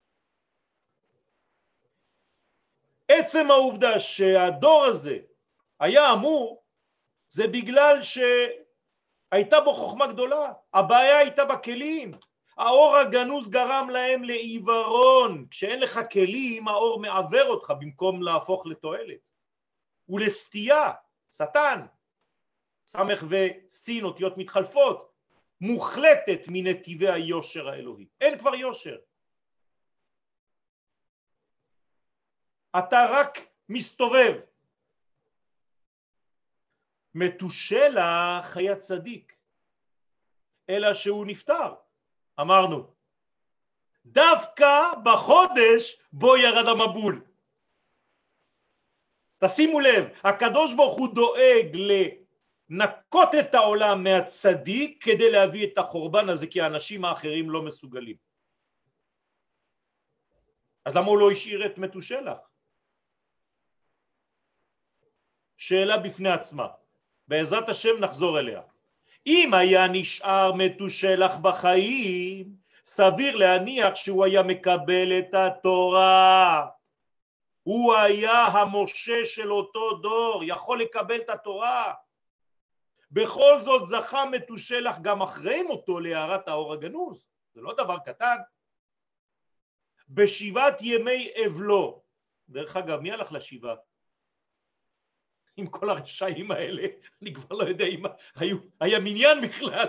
עצם העובדה שהדור הזה היה אמור, זה בגלל שהייתה בו חוכמה גדולה, הבעיה הייתה בכלים, האור הגנוז גרם להם לעיוורון, כשאין לך כלים האור מעבר אותך במקום להפוך לתועלת, ולסטייה, שטן, סמך וסין אותיות מתחלפות, מוחלטת מנתיבי היושר האלוהי, אין כבר יושר, אתה רק מסתובב. מתושלח היה צדיק, אלא שהוא נפטר, אמרנו, דווקא בחודש בו ירד המבול. תשימו לב, הקדוש ברוך הוא דואג לנקות את העולם מהצדיק כדי להביא את החורבן הזה, כי האנשים האחרים לא מסוגלים. אז למה הוא לא השאיר את מתושלח? שאלה בפני עצמה, בעזרת השם נחזור אליה. אם היה נשאר מתושלח בחיים, סביר להניח שהוא היה מקבל את התורה, הוא היה המשה של אותו דור, יכול לקבל את התורה. בכל זאת זכה מתושלח גם אחרי מותו להארת האור הגנוז, זה לא דבר קטן. בשבעת ימי אבלו, דרך אגב מי הלך לשבעה? עם כל הרשעים האלה, אני כבר לא יודע אם היו, היה מניין בכלל.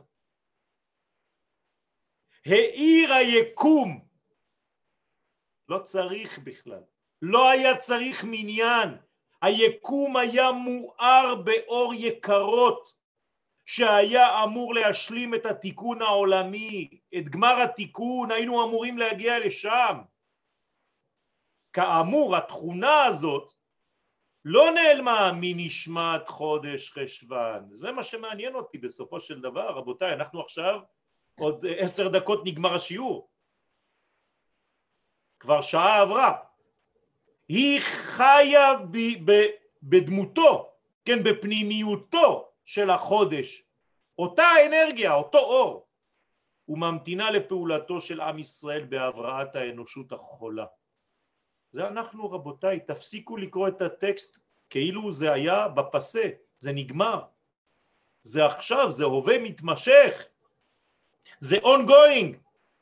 העיר היקום, לא צריך בכלל, לא היה צריך מניין, היקום היה מואר באור יקרות, שהיה אמור להשלים את התיקון העולמי, את גמר התיקון, היינו אמורים להגיע לשם. כאמור, התכונה הזאת, לא נעלמה מנשמת חודש חשוון, זה מה שמעניין אותי בסופו של דבר, רבותיי, אנחנו עכשיו, עוד עשר דקות נגמר השיעור, כבר שעה עברה, היא חיה ב- ב- בדמותו, כן, בפנימיותו של החודש, אותה אנרגיה, אותו אור, וממתינה לפעולתו של עם ישראל בהבראת האנושות החולה. זה אנחנו רבותיי, תפסיקו לקרוא את הטקסט כאילו זה היה בפסה, זה נגמר, זה עכשיו, זה הווה מתמשך, זה ongoing.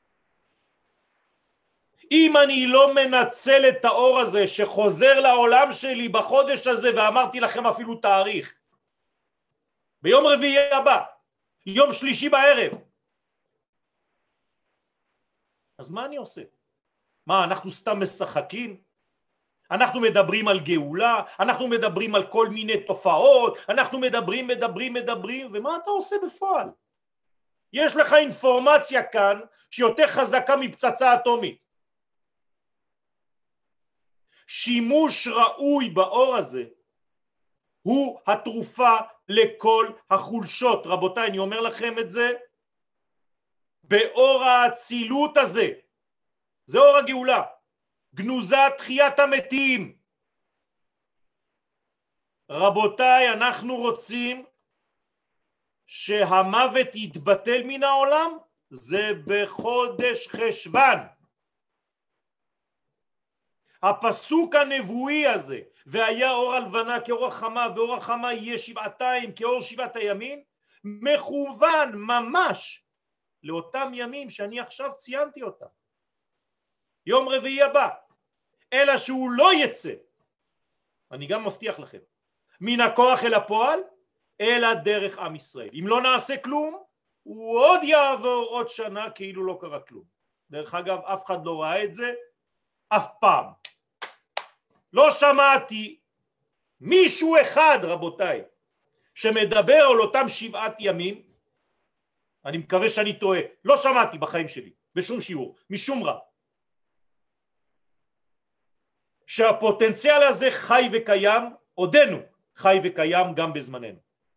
אם אני לא מנצל את האור הזה שחוזר לעולם שלי בחודש הזה, ואמרתי לכם אפילו תאריך, ביום רביעי הבא, יום שלישי בערב, אז מה אני עושה? מה, אנחנו סתם משחקים? אנחנו מדברים על גאולה, אנחנו מדברים על כל מיני תופעות, אנחנו מדברים, מדברים, מדברים, ומה אתה עושה בפועל? יש לך אינפורמציה כאן שיותר חזקה מפצצה אטומית. שימוש ראוי באור הזה הוא התרופה לכל החולשות. רבותיי, אני אומר לכם את זה, באור האצילות הזה, זה אור הגאולה, גנוזה תחיית המתים. רבותיי, אנחנו רוצים שהמוות יתבטל מן העולם, זה בחודש חשוון. הפסוק הנבואי הזה, והיה אור הלבנה כאור החמה, ואור החמה יהיה שבעתיים כאור שבעת הימים, מכוון ממש לאותם ימים שאני עכשיו ציינתי אותם. יום רביעי הבא, אלא שהוא לא יצא, אני גם מבטיח לכם, מן הכוח אל הפועל, אלא דרך עם ישראל. אם לא נעשה כלום, הוא עוד יעבור עוד שנה כאילו לא קרה כלום. דרך אגב, אף אחד לא ראה את זה, אף פעם. לא שמעתי מישהו אחד, רבותיי, שמדבר על אותם שבעת ימים, אני מקווה שאני טועה, לא שמעתי בחיים שלי, בשום שיעור, משום רב, שהפוטנציאל הזה חי וקיים, עודנו חי וקיים גם בזמננו.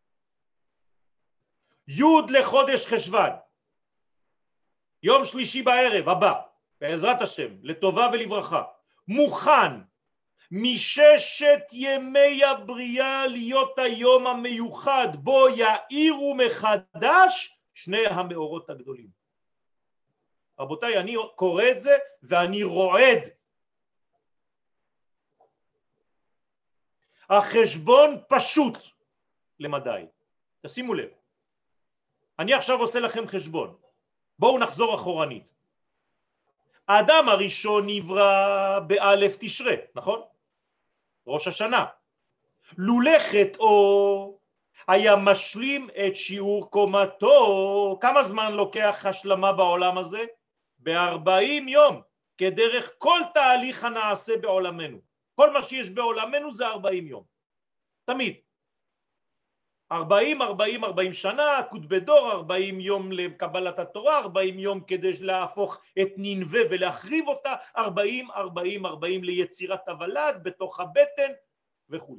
י' לחודש חשוון, יום שלישי בערב הבא, בעזרת השם, לטובה ולברכה, מוכן מששת ימי הבריאה להיות היום המיוחד בו יאירו מחדש שני המאורות הגדולים. רבותיי, אני קורא את זה ואני רועד. החשבון פשוט למדי. תשימו לב. אני עכשיו עושה לכם חשבון. בואו נחזור אחורנית. האדם הראשון נברא באלף תשרה, נכון? ראש השנה. לולא חטאו היה משלים את שיעור קומתו. כמה זמן לוקח השלמה בעולם הזה? ב-ארבעים יום, כדרך כל תהליך הנעשה בעולמנו. כל מה שיש בעולמנו זה ארבעים יום. תמיד. ארבעים, ארבעים, ארבעים שנה, קוד בדור, ארבעים יום לקבלת התורה, ארבעים יום כדי להפוך את נינווה ולהחריב אותה, ארבעים, ארבעים, ארבעים ליצירת הוולד בתוך הבטן וכו'.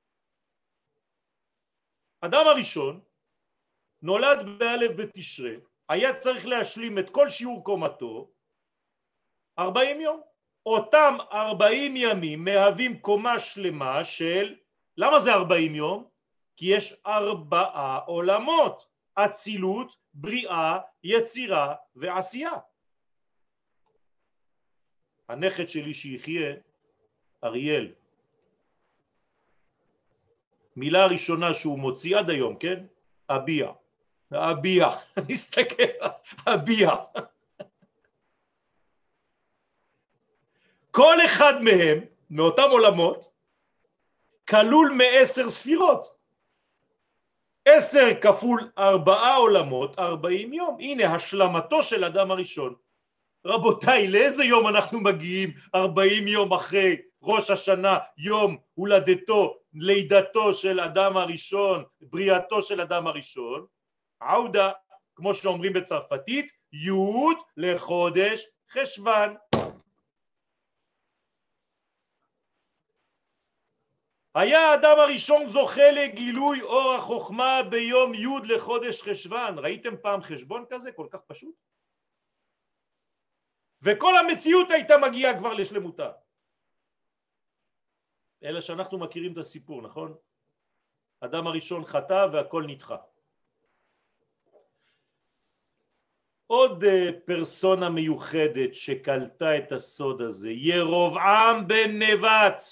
אדם הראשון נולד באלף בתשרה, היה צריך להשלים את כל שיעור קומתו ארבעים יום. אותם ארבעים ימים מהווים קומה שלמה של, למה זה ארבעים יום? כי יש ארבעה עולמות, אצילות, בריאה, יצירה ועשייה. הנכד שלי שיחיה, אריאל, מילה ראשונה שהוא מוציא עד היום, כן? אביה. אביה. נסתכל, אביה. כל אחד מהם, מאותם עולמות, כלול מעשר ספירות. עשר כפול ארבעה עולמות, ארבעים יום. הנה השלמתו של אדם הראשון. רבותיי, לאיזה יום אנחנו מגיעים ארבעים יום אחרי ראש השנה, יום הולדתו, לידתו של אדם הראשון, בריאתו של אדם הראשון? עודה, כמו שאומרים בצרפתית, י' לחודש חשוון. היה האדם הראשון זוכה לגילוי אור החוכמה ביום י' לחודש חשוון. ראיתם פעם חשבון כזה כל כך פשוט? וכל המציאות הייתה מגיעה כבר לשלמותה. אלא שאנחנו מכירים את הסיפור, נכון? אדם הראשון חטא והכל נדחה. עוד פרסונה מיוחדת שקלטה את הסוד הזה, ירבעם בן נבט,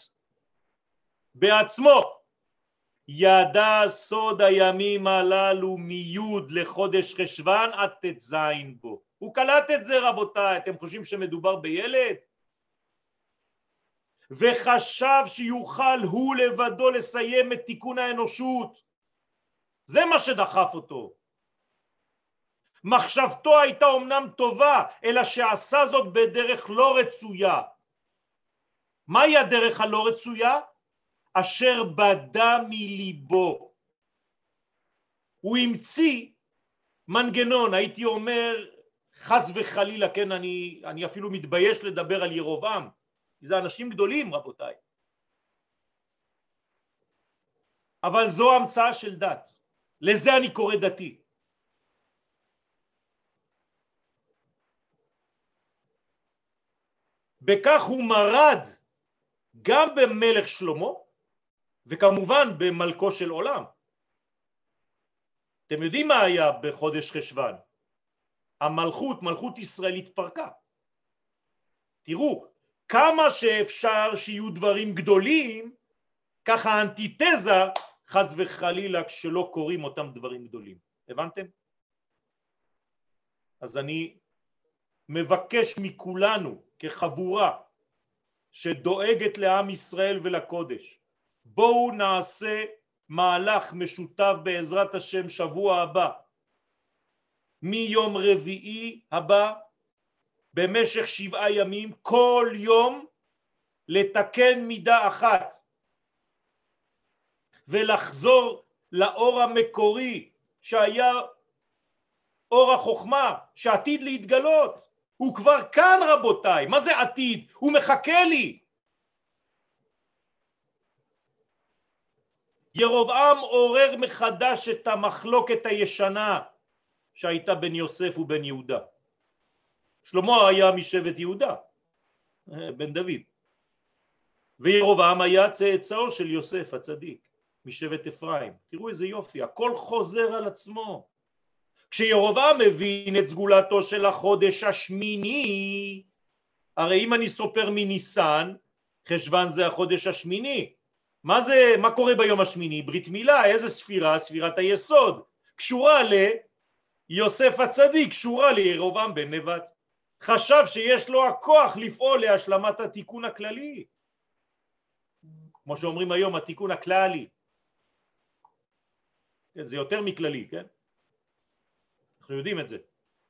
בעצמו ידע סוד הימים הללו מיוד לחודש חשוון עד תזין בו. הוא קלט את זה, רבותיי. אתם חושבים שמדובר בילד? וחשב שיוכל הוא לבדו לסיים את תיקון האנושות. זה מה שדחף אותו. מחשבתו הייתה אומנם טובה, אלא שעשה זאת בדרך לא רצויה. מהי הדרך הלא רצויה? אשר בדה מליבו. הוא המציא מנגנון, הייתי אומר חס וחלילה, כן, אני, אני אפילו מתבייש לדבר על ירובעם, זה אנשים גדולים, רבותיי. אבל זו המצאה של דת, לזה אני קורא דתי. בכך הוא מרד גם במלך שלמה, וכמובן במלכו של עולם. אתם יודעים מה היה בחודש חשוון? המלכות, מלכות ישראל התפרקה. תראו, כמה שאפשר שיהיו דברים גדולים, ככה האנטיתזה חס וחלילה כשלא קוראים אותם דברים גדולים. הבנתם? אז אני מבקש מכולנו כחבורה שדואגת לעם ישראל ולקודש, בואו נעשה מהלך משותף בעזרת השם שבוע הבא, מיום רביעי הבא במשך שבעה ימים, כל יום לתקן מידה אחת ולחזור לאור המקורי שהיה אור החוכמה שעתיד להתגלות. הוא כבר כאן, רבותיי. מה זה עתיד? הוא מחכה לי. ירבעם עורר מחדש את המחלוקת הישנה שהייתה בין יוסף ובן יהודה. שלמה היה משבט יהודה, בן דוד, וירבעם היה צאצאו של יוסף הצדיק משבט אפרים. תראו איזה יופי, הכל חוזר על עצמו. כשירבעם מבין את סגולתו של החודש השמיני, הרי אם אני סופר מניסן, חשוון זה החודש השמיני, מה זה, מה קורה ביום השמיני? ברית מילה, איזה ספירה? ספירת היסוד, קשורה ליוסף הצדיק, קשורה לירבעם בן נבט. חשב שיש לו הכוח לפעול להשלמת התיקון הכללי, כמו שאומרים היום, התיקון הכללי. כן, זה יותר מכללי, כן? אנחנו יודעים את זה.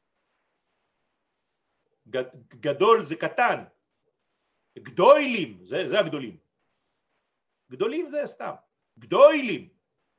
גדול זה קטן, גדולים זה, זה הגדולים, גדולים זה סתם, גדולים.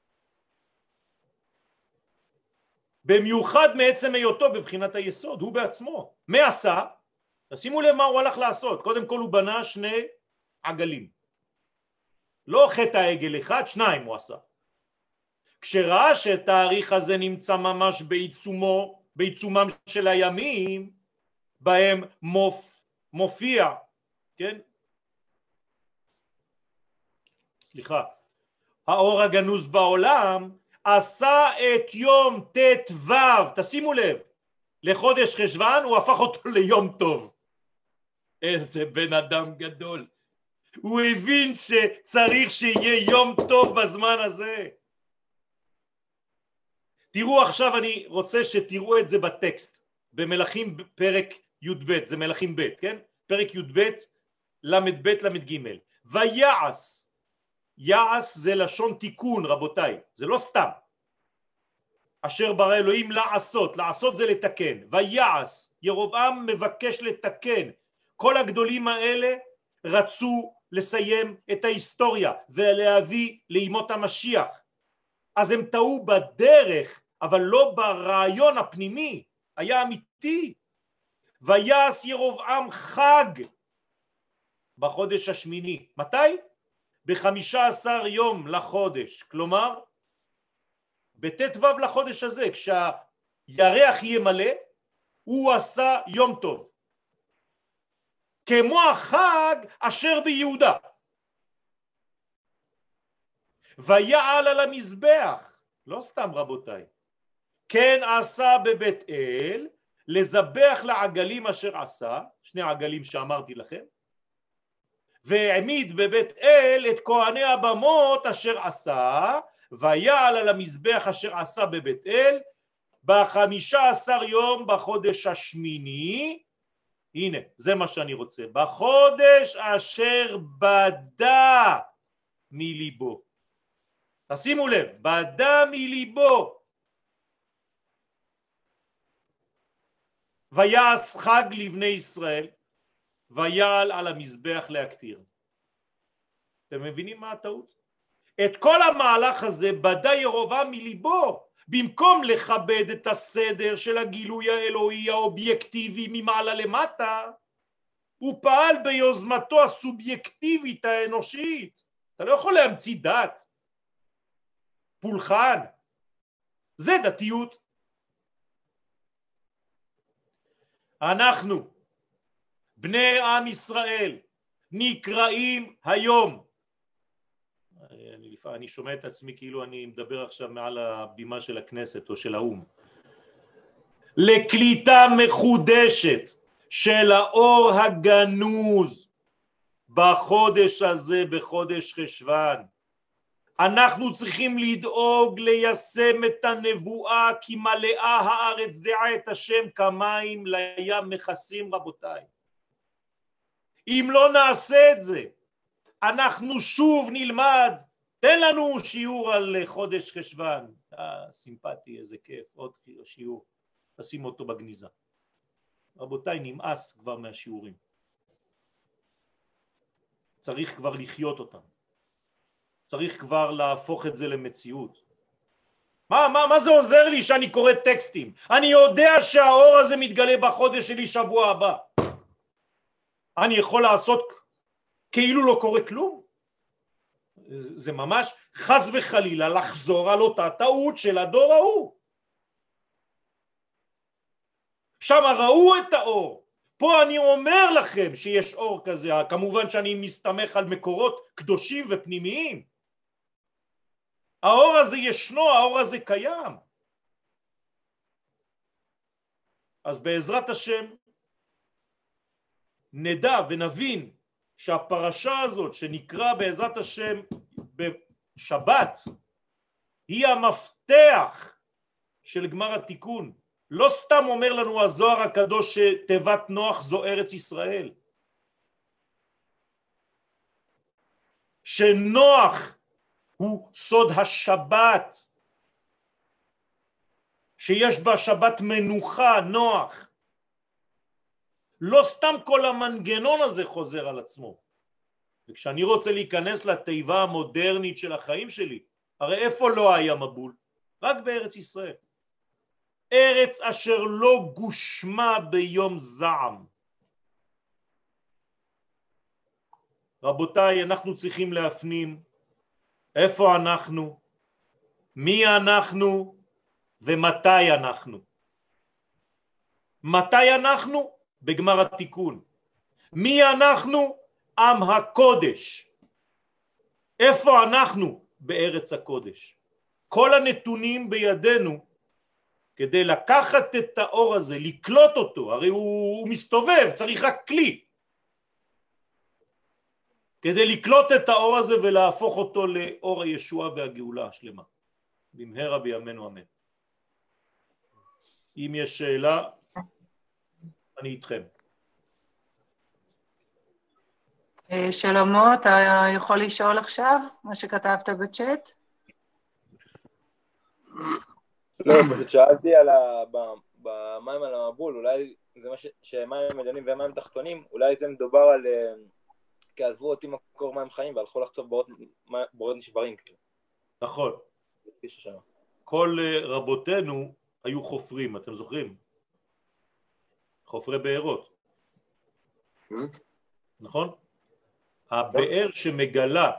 במיוחד מעצם היותו בבחינת היסוד, הוא בעצמו. מה עשה? תשימו לב מה הוא הלך לעשות. קודם כל הוא בנה שני עגלים. לא חטא העגל אחד, שניים הוא עשה. כשראה שהתאריך הזה נמצא ממש בעיצומו, בעיצומם של הימים, בהם מופ, מופיע, כן? סליחה. האור הגנוז בעולם, עשה את יום ת' ו', תשימו לב, לחודש חשוון, הוא הפך אותו ליום טוב. איזה בן אדם גדול. הוא הבין שצריך שיהיה יום טוב בזמן הזה. תראו עכשיו, אני רוצה שתראו את זה בטקסט, במלכים פרק י' ב', זה מלכים ב', כן? פרק י' ב', למד ב' למד ג'. ויעש, יעש זה לשון תיקון רבותיי, זה לא סתם. אשר ברא אלוהים לעשות, לעשות זה לתקן. ויעש, ירבעם מבקש לתקן. כל הגדולים האלה רצו לסיים את ההיסטוריה ולהביא לימות המשיח. אז הם טעו בדרך, אבל לא ברעיון הפנימי, היה אמיתי. ויעש ירבעם חג בחודש השמיני. מתי? בחמישה עשר יום לחודש, כלומר בת' ו' לחודש הזה, כשהירח יהיה מלא, הוא עשה יום טוב. כמו החג אשר ביהודה. ויעל על המזבח, לא סתם רבותיי, כן עשה בבית אל, לזבח לעגלים אשר עשה, שני עגלים שאמרתי לכם, והעמיד בבית אל את כהני הבמות אשר עשה, ויעל על המזבח אשר עשה בבית אל, בחמישה עשר יום בחודש השמיני, הנה זה מה שאני רוצה, בחודש אשר בדה מליבו. תשימו לב, בדה מליבו. ויעש חג לבני ישראל, ויעל על המזבח להקטיר. אתם מבינים מה הטעות? את כל המהלך הזה בדה ירבעם מליבו, במקום לכבד את הסדר של הגילוי האלוהי האובייקטיבי ממעלה למטה, הוא פעל ביוזמתו הסובייקטיבית האנושית. אתה לא יכול להמציא דת, פולחן, זה דתיות. אנחנו בני עם ישראל נקראים היום, אני, אני שומע את עצמי כאילו אני מדבר עכשיו מעל הבימה של הכנסת או של האום, לקליטה מחודשת של האור הגנוז בחודש הזה, בחודש חשוון. אנחנו צריכים לדאוג ליישם את הנבואה, כי מלאה הארץ דעה את השם כמים לים מכסים רבותיי. אם לא נעשה את זה, אנחנו שוב נלמד, תן לנו שיעור על חודש חשוון, אה, סימפטי, איזה כיף, עוד שיעור, תשים אותו בגניזה. רבותיי, נמאס כבר מהשיעורים. צריך כבר לחיות אותם. צריך כבר להפוך את זה למציאות. מה, מה, מה זה עוזר לי שאני קורא טקסטים? אני יודע שהאור הזה מתגלה בחודש שלי שבוע הבא. אני יכול לעשות כאילו לא קורה כלום? זה ממש חס וחלילה לחזור על אותה טעות של הדור ההוא. שם ראו את האור. פה אני אומר לכם שיש אור כזה, כמובן שאני מסתמך על מקורות קדושים ופנימיים. האור הזה ישנו, האור הזה קיים. אז בעזרת השם נדע ונבין שהפרשה הזאת שנקרא בעזרת השם בשבת היא המפתח של גמר התיקון. לא סתם אומר לנו הזוהר הקדוש שתיבת נוח זו ארץ ישראל. שנוח הוא סוד השבת, שיש בה שבת מנוחה, נוח. לא סתם כל המנגנון הזה חוזר על עצמו. וכשאני רוצה להיכנס לתיבה המודרנית של החיים שלי, הרי איפה לא היה מבול? רק בארץ ישראל. ארץ אשר לא גושמה ביום זעם. רבותיי, אנחנו צריכים להפנים איפה אנחנו, מי אנחנו ומתי אנחנו. מתי אנחנו? בגמר התיקון. מי אנחנו? עם הקודש. איפה אנחנו? בארץ הקודש. כל הנתונים בידינו כדי לקחת את האור הזה, לקלוט אותו, הרי הוא, הוא מסתובב, צריך רק כלי. כדי לקלוט את האור הזה ולהפוך אותו לאור הישועה והגאולה השלמה. במהרה בימינו אמן. אם יש שאלה, אני איתכם. שלמה, אתה יכול לשאול עכשיו מה שכתבת בצ'אט? לא, פשוט שאלתי על המים על המבול, אולי זה מה שמים עליונים ומים תחתונים, אולי זה מדובר על כי עזבו אותי מקור מים חיים והלכו לחצוב בורות נשברים. נכון. כל רבותינו היו חופרים, אתם זוכרים? חופרי בארות. נכון? הבאר שמגלה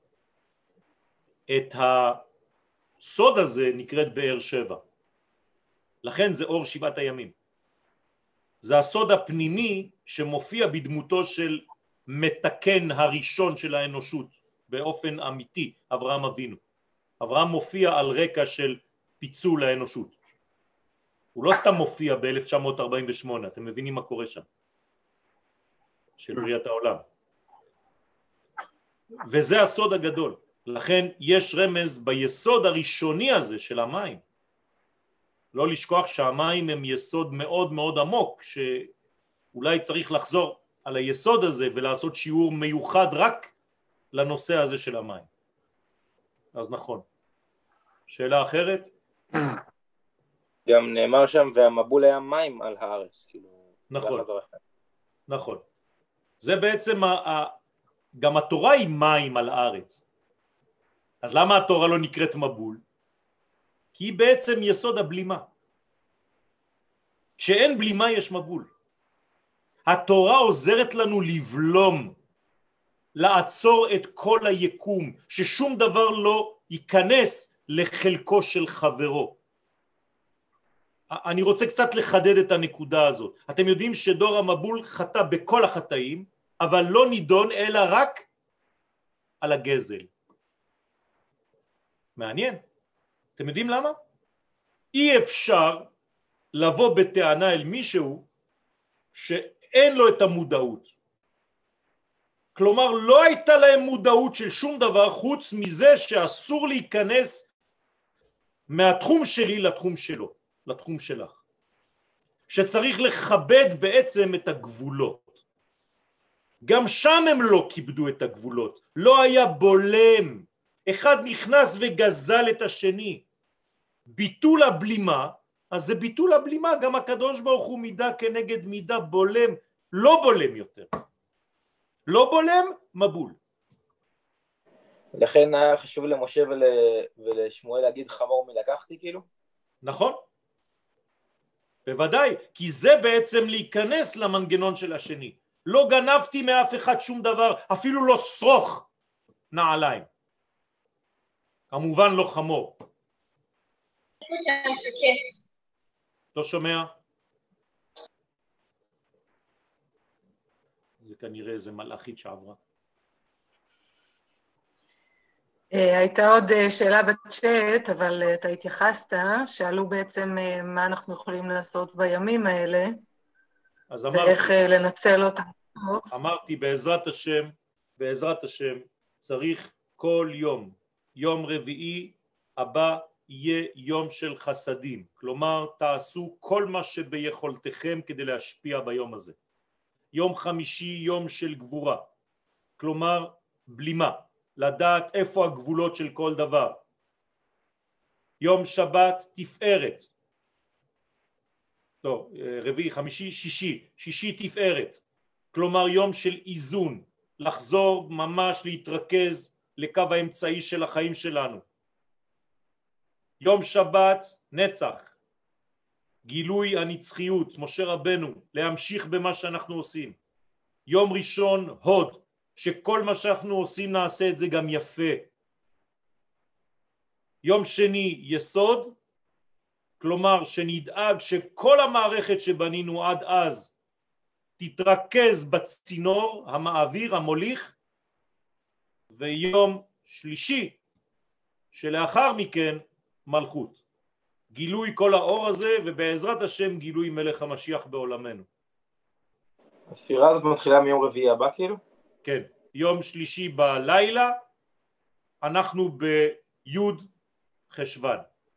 את הסוד הזה נקראת באר שבע. לכן זה אור שבעת הימים. זה הסוד הפנימי שמופיע בדמותו של מתקן הראשון של האנושות באופן אמיתי, אברהם אבינו. אברהם מופיע על רקע של פיצול האנושות. הוא לא סתם מופיע ב-אלף תשע מאות ארבעים ושמונה, אתם מבינים מה קורה שם? של בריאת העולם. וזה הסוד הגדול. לכן יש רמז ביסוד הראשוני הזה של המים. לא לשכוח שהמים הם יסוד מאוד מאוד עמוק, שאולי צריך לחזור על היסוד הזה ולעשות שיעור מיוחד רק לנושא הזה של המים. אז נכון. שאלה אחרת? גם נאמר שם והמבול היה מים על הארץ. נכון. נכון. זה בעצם, ה... גם התורה היא מים על הארץ. אז למה התורה לא נקראת מבול? כי היא בעצם יסוד הבלימה. כשאין בלימה יש מבול. התורה עוזרת לנו לבלום, לעצור את כל היקום, ששום דבר לא ייכנס לחלקו של חברו. אני רוצה קצת לחדד את הנקודה הזאת. אתם יודעים שדור המבול חטא בכל החטאים, אבל לא נידון אלא רק על הגזל. מעניין. אתם יודעים למה? אי אפשר לבוא בטענה אל מישהו שאין לו את המודעות. כלומר, לא הייתה להם מודעות של שום דבר חוץ מזה שאסור להיכנס מהתחום שלי לתחום שלו, לתחום שלך. שצריך לכבד בעצם את הגבולות. גם שם הם לא כיבדו את הגבולות. לא היה בולם. אחד נכנס וגזל את השני. ביטול הבלימה, אז זה ביטול הבלימה, גם הקדוש ברוך הוא מידה כנגד מידה בולם, לא בולם יותר. לא בולם, מבול. לכן היה חשוב למשה ול... ולשמואל להגיד חמור מלקחתי כאילו? נכון. בוודאי, כי זה בעצם להיכנס למנגנון של השני. לא גנבתי מאף אחד שום דבר, אפילו לא שרוך נעליים. כמובן לא חמור. לא שומע? זה כנראה איזה מלאכית שעברה. הייתה עוד שאלה בצ'אט, אבל אתה התייחסת, שאלו בעצם מה אנחנו יכולים לעשות בימים האלה, אז אמרתי, ואיך לנצל אותם. אמרתי בעזרת השם, בעזרת השם, צריך כל יום. יום רביעי הבא יהיה יום של חסדים, כלומר תעשו כל מה שביכולתכם כדי להשפיע ביום הזה. יום חמישי יום של גבורה, כלומר בלימה, לדעת איפה הגבולות של כל דבר. יום שבת תפארת, לא, רביעי, חמישי, שישי, שישי תפארת, כלומר יום של איזון, לחזור ממש להתרכז לקו האמצעי של החיים שלנו. יום שבת נצח, גילוי הנצחיות, משה רבנו, להמשיך במה שאנחנו עושים. יום ראשון הוד, שכל מה שאנחנו עושים נעשה את זה גם יפה. יום שני יסוד, כלומר שנדאג שכל המערכת שבנינו עד אז תתרכז בצינור המעביר המוליך. ויום שלישי שלאחר מכן מלכות, גילוי כל האור הזה, ובעזרת השם גילוי מלך המשיח בעולמנו. הספירה הזאת מתחילה מיום רביעי הבא כאילו? כן, יום שלישי בלילה אנחנו ביוד חשבן.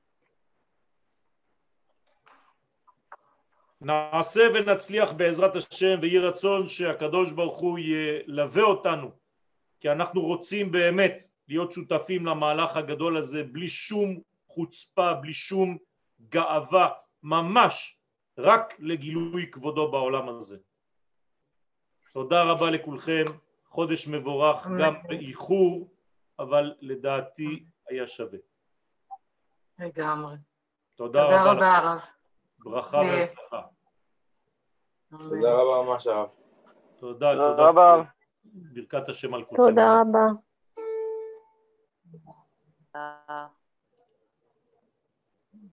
נעשה ונצליח בעזרת השם, ויהי רצון שהקדוש ברוך הוא ילווה אותנו, כי אנחנו רוצים באמת להיות שותפים למהלך הגדול הזה בלי שום חוצפה, בלי שום גאווה, ממש רק לגילוי כבודו בעולם הזה. תודה רבה לכולכם, חודש מבורך, גם באיחור, אבל לדעתי היה שווה. לגמרי. תודה, תודה רבה, רבה הרב. ברכה והצלחה. תודה רבה ממש הרב. תודה, תודה תודה רבה. ברכת השם על כולכם. תודה רבה. תודה.